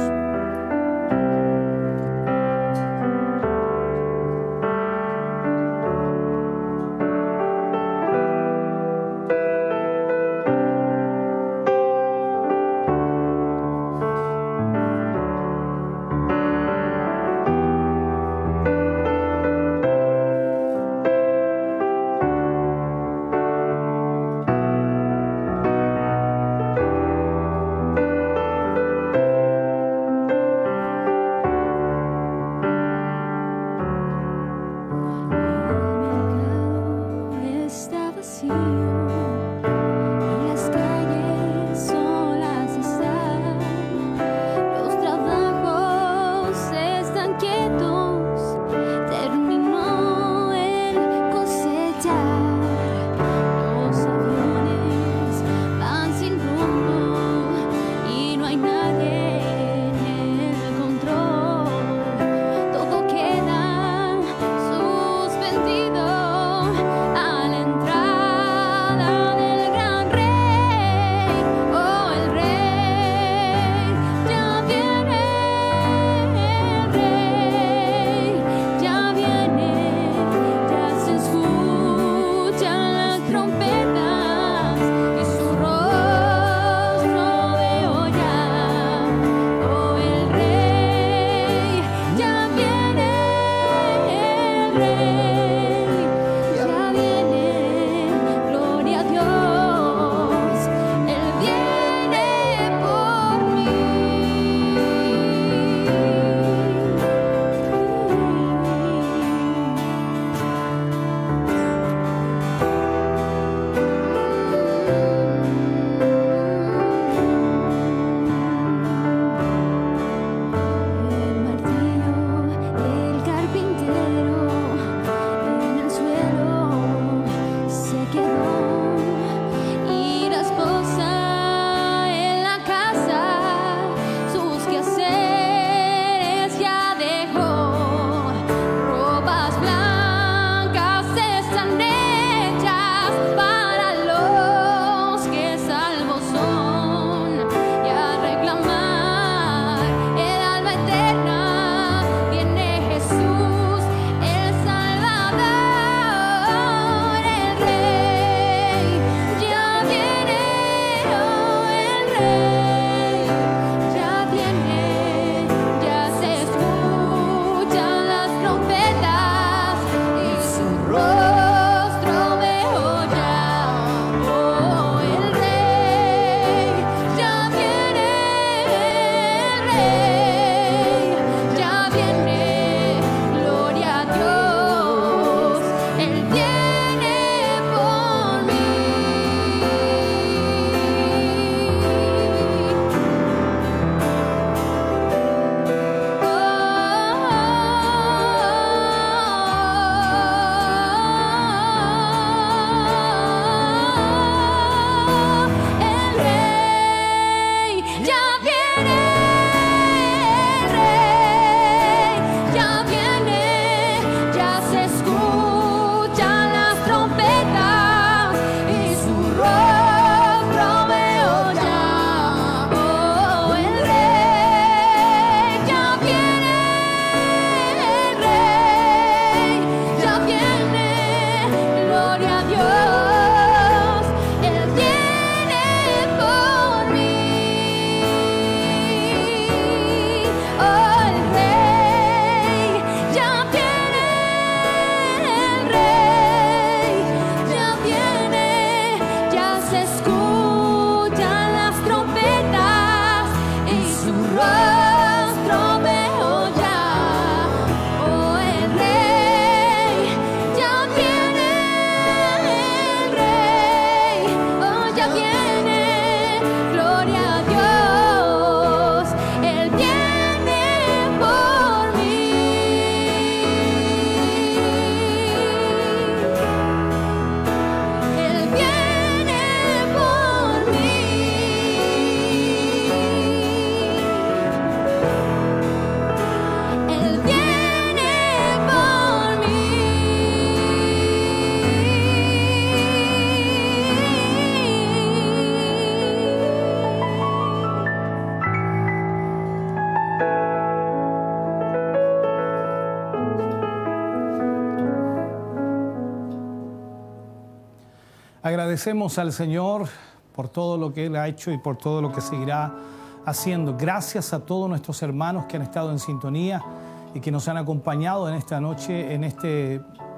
Agradecemos al Señor por todo lo que Él ha hecho y por todo lo que seguirá haciendo. Gracias a todos nuestros hermanos que han estado en sintonía y que nos han acompañado en esta noche, en este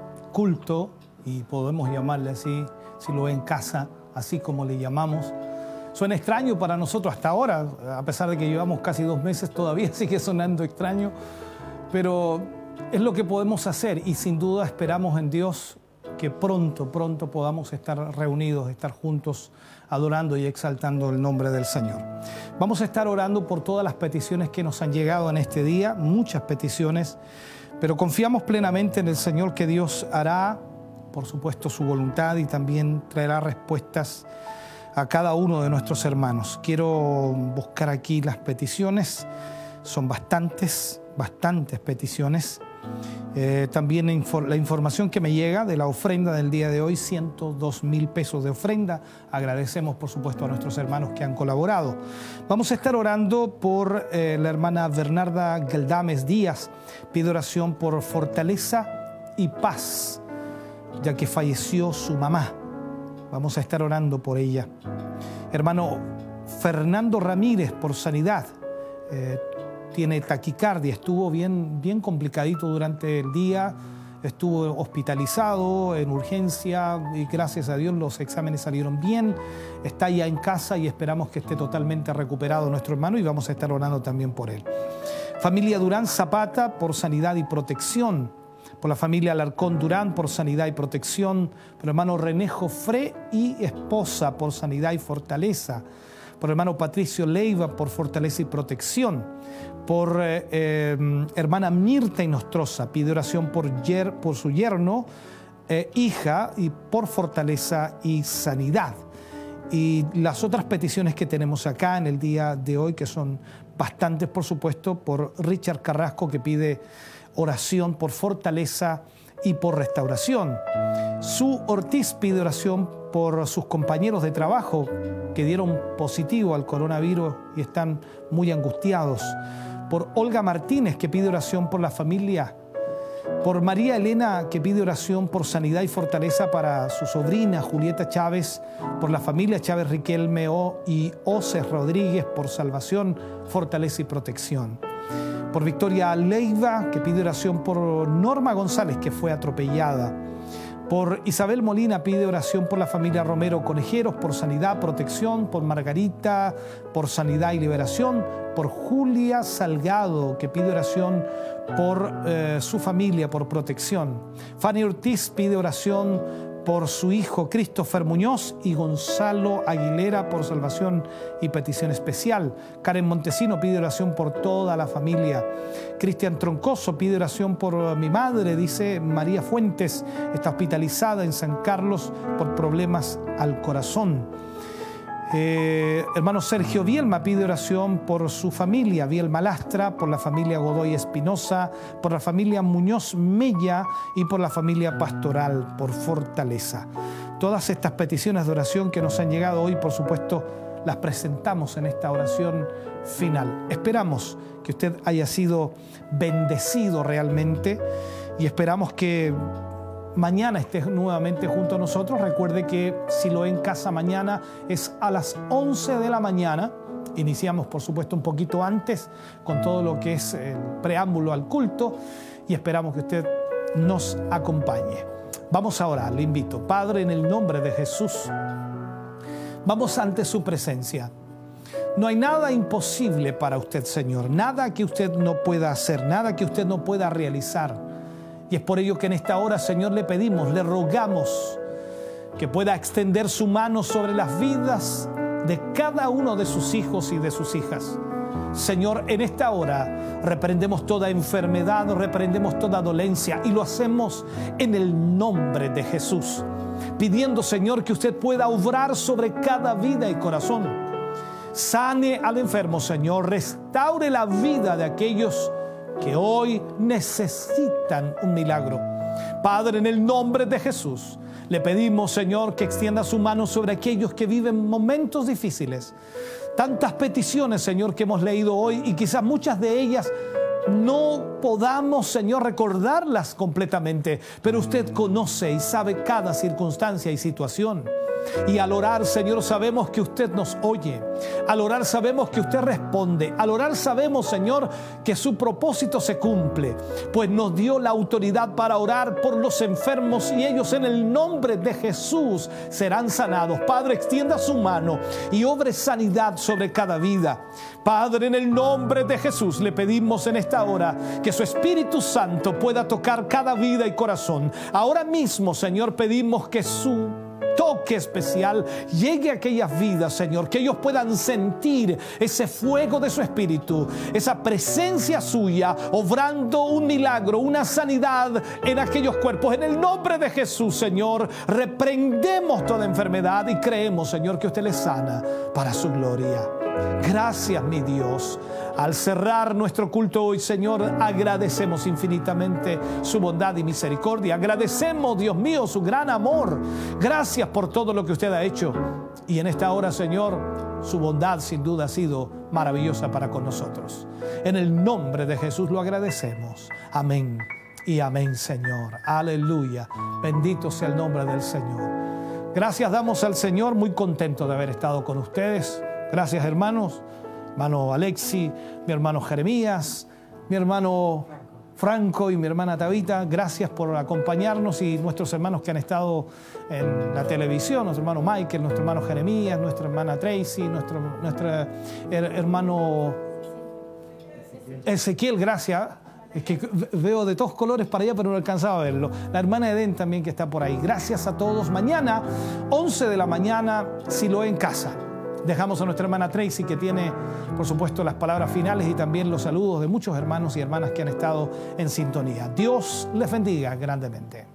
culto, y podemos llamarle así, si lo ve en casa, así como le llamamos. Suena extraño para nosotros hasta ahora, a pesar de que llevamos casi dos meses, todavía sigue sonando extraño, pero es lo que podemos hacer y sin duda esperamos en Dios que pronto, pronto podamos estar reunidos, estar juntos, adorando y exaltando el nombre del Señor. Vamos a estar orando por todas las peticiones que nos han llegado en este día, muchas peticiones, pero confiamos plenamente en el Señor que Dios hará, por supuesto, su voluntad y también traerá respuestas a cada uno de nuestros hermanos. Quiero buscar aquí las peticiones, son bastantes, bastantes peticiones. Eh, también la información que me llega de la ofrenda del día de hoy, ciento dos mil pesos de ofrenda. Agradecemos, por supuesto, a nuestros hermanos que han colaborado. Vamos a estar orando por eh, la hermana Bernarda Galdames Díaz. Pide oración por fortaleza y paz, ya que falleció su mamá. Vamos a estar orando por ella. Hermano Fernando Ramírez, por sanidad. Eh, tiene taquicardia, estuvo bien, bien complicadito durante el día, estuvo hospitalizado en urgencia y gracias a Dios los exámenes salieron bien. Está ya en casa y esperamos que esté totalmente recuperado nuestro hermano y vamos a estar orando también por él. Familia Durán Zapata, por sanidad y protección. Por la familia Alarcón Durán, por sanidad y protección. Por el hermano René Jofré y esposa, por sanidad y fortaleza. Por el hermano Patricio Leiva, por fortaleza y protección. Por eh, eh, hermana Mirta Inostroza, pide oración por, yer, por su yerno, eh, hija, y por fortaleza y sanidad. Y las otras peticiones que tenemos acá en el día de hoy, que son bastantes, por supuesto, por Richard Carrasco, que pide oración por fortaleza y por restauración. Su Ortiz pide oración por sus compañeros de trabajo que dieron positivo al coronavirus y están muy angustiados. Por Olga Martínez, que pide oración por la familia. Por María Elena, que pide oración por sanidad y fortaleza para su sobrina Julieta Chávez. Por la familia Chávez Riquelme y Oces Rodríguez, por salvación, fortaleza y protección. Por Victoria Leiva, que pide oración por Norma González, que fue atropellada. Por Isabel Molina, pide oración por la familia Romero Conejeros, por sanidad, protección. Por Margarita, por sanidad y liberación. Por Julia Salgado, que pide oración por eh, su familia, por protección. Fanny Ortiz pide oración por su hijo Christopher Muñoz y Gonzalo Aguilera, por salvación y petición especial. Karen Montesino pide oración por toda la familia. Cristian Troncoso pide oración por mi madre, dice María Fuentes, está hospitalizada en San Carlos por problemas al corazón. Eh, hermano Sergio Bielma pide oración por su familia, Bielma Lastra, por la familia Godoy Espinosa, por la familia Muñoz Mella y por la familia Pastoral, por fortaleza. Todas estas peticiones de oración que nos han llegado hoy, por supuesto, las presentamos en esta oración final. Esperamos que usted haya sido bendecido realmente y esperamos que mañana esté nuevamente junto a nosotros. Recuerde que si lo en casa mañana es a las once de la mañana. Iniciamos, por supuesto, un poquito antes con todo lo que es el preámbulo al culto y esperamos que usted nos acompañe. Vamos a orar, le invito. Padre, en el nombre de Jesús, vamos ante su presencia. No hay nada imposible para usted, Señor. Nada que usted no pueda hacer, nada que usted no pueda realizar. Y es por ello que en esta hora, Señor, le pedimos, le rogamos que pueda extender su mano sobre las vidas de cada uno de sus hijos y de sus hijas. Señor, en esta hora reprendemos toda enfermedad, reprendemos toda dolencia y lo hacemos en el nombre de Jesús, pidiendo, Señor, que usted pueda obrar sobre cada vida y corazón. Sane al enfermo, Señor, restaure la vida de aquellos que hoy necesitan un milagro. Padre, en el nombre de Jesús, le pedimos, Señor, que extienda su mano sobre aquellos que viven momentos difíciles. Tantas peticiones, Señor, que hemos leído hoy y quizás muchas de ellas no podamos, Señor, recordarlas completamente, pero usted conoce y sabe cada circunstancia y situación. Y al orar, Señor, sabemos que usted nos oye. Al orar sabemos que usted responde. Al orar sabemos, Señor, que su propósito se cumple, pues nos dio la autoridad para orar por los enfermos y ellos en el nombre de Jesús serán sanados. Padre, extienda su mano y obre sanidad sobre cada vida. Padre, en el nombre de Jesús le pedimos en esta hora que su Espíritu Santo pueda tocar cada vida y corazón. Ahora mismo, Señor, pedimos que su toque especial llegue a aquellas vidas, Señor, que ellos puedan sentir ese fuego de su Espíritu, esa presencia suya, obrando un milagro, una sanidad en aquellos cuerpos. En el nombre de Jesús, Señor, reprendemos toda enfermedad y creemos, Señor, que usted les sana para su gloria. Gracias, mi Dios. Al cerrar nuestro culto hoy, Señor, agradecemos infinitamente su bondad y misericordia. Agradecemos, Dios mío, su gran amor. Gracias por todo lo que usted ha hecho. Y en esta hora, Señor, su bondad sin duda ha sido maravillosa para con nosotros. En el nombre de Jesús lo agradecemos. Amén y amén, Señor. Aleluya. Bendito sea el nombre del Señor. Gracias damos al Señor, muy contento de haber estado con ustedes. Gracias, hermanos. Hermano Alexi, mi hermano Jeremías, mi hermano Franco y mi hermana Tabita, gracias por acompañarnos, y nuestros hermanos que han estado en la televisión, nuestro hermano Michael, nuestro hermano Jeremías, nuestra hermana Tracy, nuestro, nuestro her hermano Ezequiel, gracias. Es que veo de todos colores para allá, pero no alcanzaba a verlo. La hermana Eden también, que está por ahí. Gracias a todos. Mañana, once de la mañana, Siloé en casa. Dejamos a nuestra hermana Tracy, que tiene, por supuesto, las palabras finales y también los saludos de muchos hermanos y hermanas que han estado en sintonía. Dios les bendiga grandemente.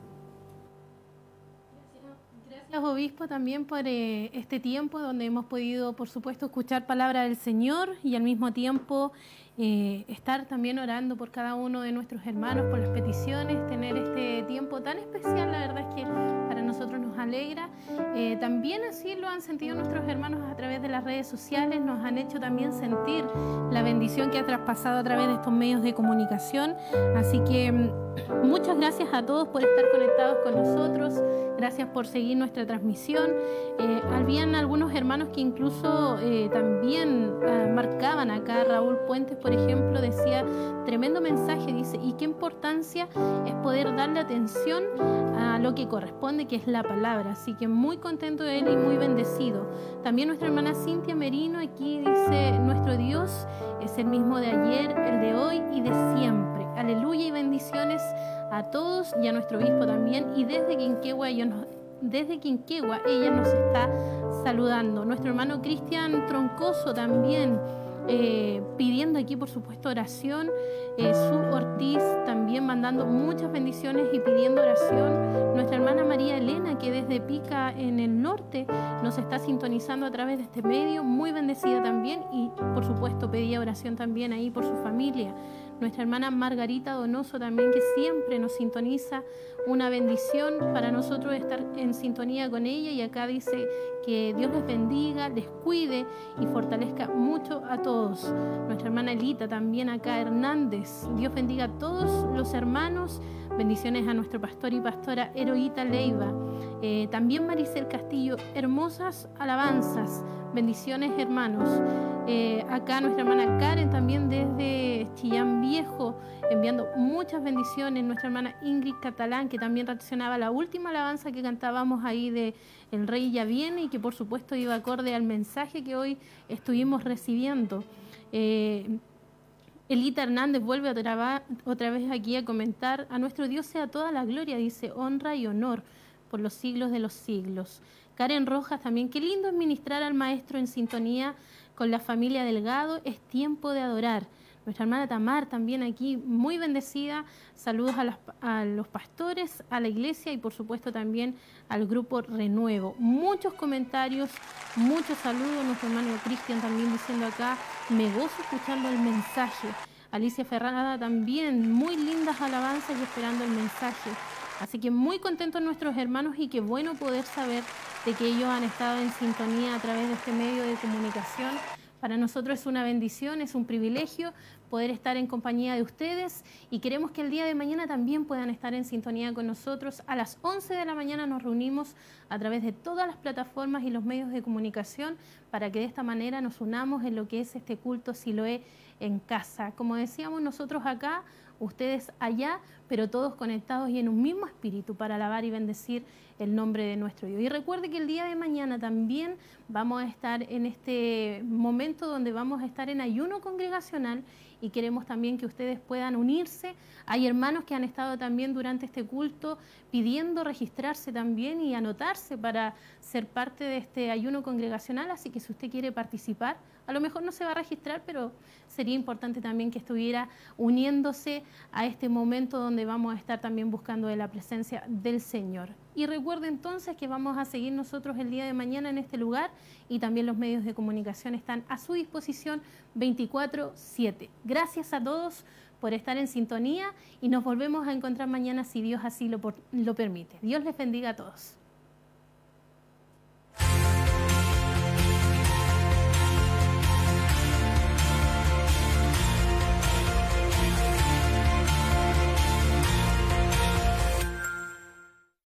Gracias, obispo, también por eh, este tiempo donde hemos podido, por supuesto, escuchar palabra del Señor y al mismo tiempo eh, estar también orando por cada uno de nuestros hermanos, por las peticiones, tener este tiempo tan especial. La verdad es que para nosotros nos alegra. Eh, también así lo han sentido nuestros hermanos a través de las redes sociales, nos han hecho también sentir la bendición que ha traspasado a través de estos medios de comunicación. Así que muchas gracias a todos por estar conectados con nosotros, gracias por seguir nuestra transmisión. Eh, habían algunos hermanos que incluso eh, también eh, marcaban acá. Raúl Puentes, por ejemplo, decía, tremendo mensaje, dice, y qué importancia es poder darle atención a lo que corresponde, que es la palabra. Así que muy contento de él y muy bendecido. También nuestra hermana Cintia Merino aquí dice, nuestro Dios es el mismo de ayer, el de hoy y de siempre. Aleluya y bendiciones a todos y a nuestro obispo también. Y desde Quinquegua, ellos nos, desde Quinquegua ella nos está saludando. Nuestro hermano Cristian Troncoso también eh, pidiendo aquí, por supuesto, oración. Eh, Su Ortiz también mandando muchas bendiciones y pidiendo oración. Nuestra hermana María Elena, que desde Pica en el norte nos está sintonizando a través de este medio, muy bendecida también, y por supuesto pedía oración también ahí por su familia. Nuestra hermana Margarita Donoso también, que siempre nos sintoniza, una bendición para nosotros estar en sintonía con ella, y acá dice que Dios les bendiga, les cuide y fortalezca mucho a todos. Nuestra hermana Elita también acá, Hernández, Dios bendiga a todos los hermanos, bendiciones a nuestro pastor y pastora Heroíta Leiva. Eh, también Maricel Castillo, hermosas alabanzas, bendiciones hermanos. Eh, acá nuestra hermana Karen también desde Chillán Viejo, enviando muchas bendiciones. Nuestra hermana Ingrid Catalán, que también reaccionaba a la última alabanza que cantábamos ahí de El Rey ya viene, y que por supuesto iba acorde al mensaje que hoy estuvimos recibiendo. Eh, Elita Hernández vuelve otra, otra vez aquí a comentar, a nuestro Dios sea toda la gloria, dice, honra y honor por los siglos de los siglos. Karen Rojas también, qué lindo es ministrar al maestro en sintonía con la familia Delgado, es tiempo de adorar. Nuestra hermana Tamar también aquí, muy bendecida. Saludos a, las, a los pastores, a la iglesia y por supuesto también al grupo Renuevo. Muchos comentarios, muchos saludos. Nuestro hermano Cristian también diciendo acá, me gozo escuchando el mensaje. Alicia Ferrada también, muy lindas alabanzas y esperando el mensaje. Así que muy contentos nuestros hermanos, y qué bueno poder saber de que ellos han estado en sintonía a través de este medio de comunicación. Para nosotros es una bendición, es un privilegio poder estar en compañía de ustedes y queremos que el día de mañana también puedan estar en sintonía con nosotros. A las once de la mañana nos reunimos a través de todas las plataformas y los medios de comunicación para que de esta manera nos unamos en lo que es este culto Siloé en casa. Como decíamos nosotros acá, ustedes allá, pero todos conectados y en un mismo espíritu para alabar y bendecir el nombre de nuestro Dios. Y recuerde que el día de mañana también vamos a estar en este momento donde vamos a estar en ayuno congregacional y queremos también que ustedes puedan unirse. Hay hermanos que han estado también durante este culto pidiendo registrarse también y anotarse para ser parte de este ayuno congregacional, así que si usted quiere participar, a lo mejor no se va a registrar, pero sería importante también que estuviera uniéndose a este momento donde vamos a estar también buscando de la presencia del Señor. Y recuerde entonces que vamos a seguir nosotros el día de mañana en este lugar y también los medios de comunicación están a su disposición veinticuatro siete. Gracias a todos por estar en sintonía y nos volvemos a encontrar mañana si Dios así lo, lo permite. Dios les bendiga a todos.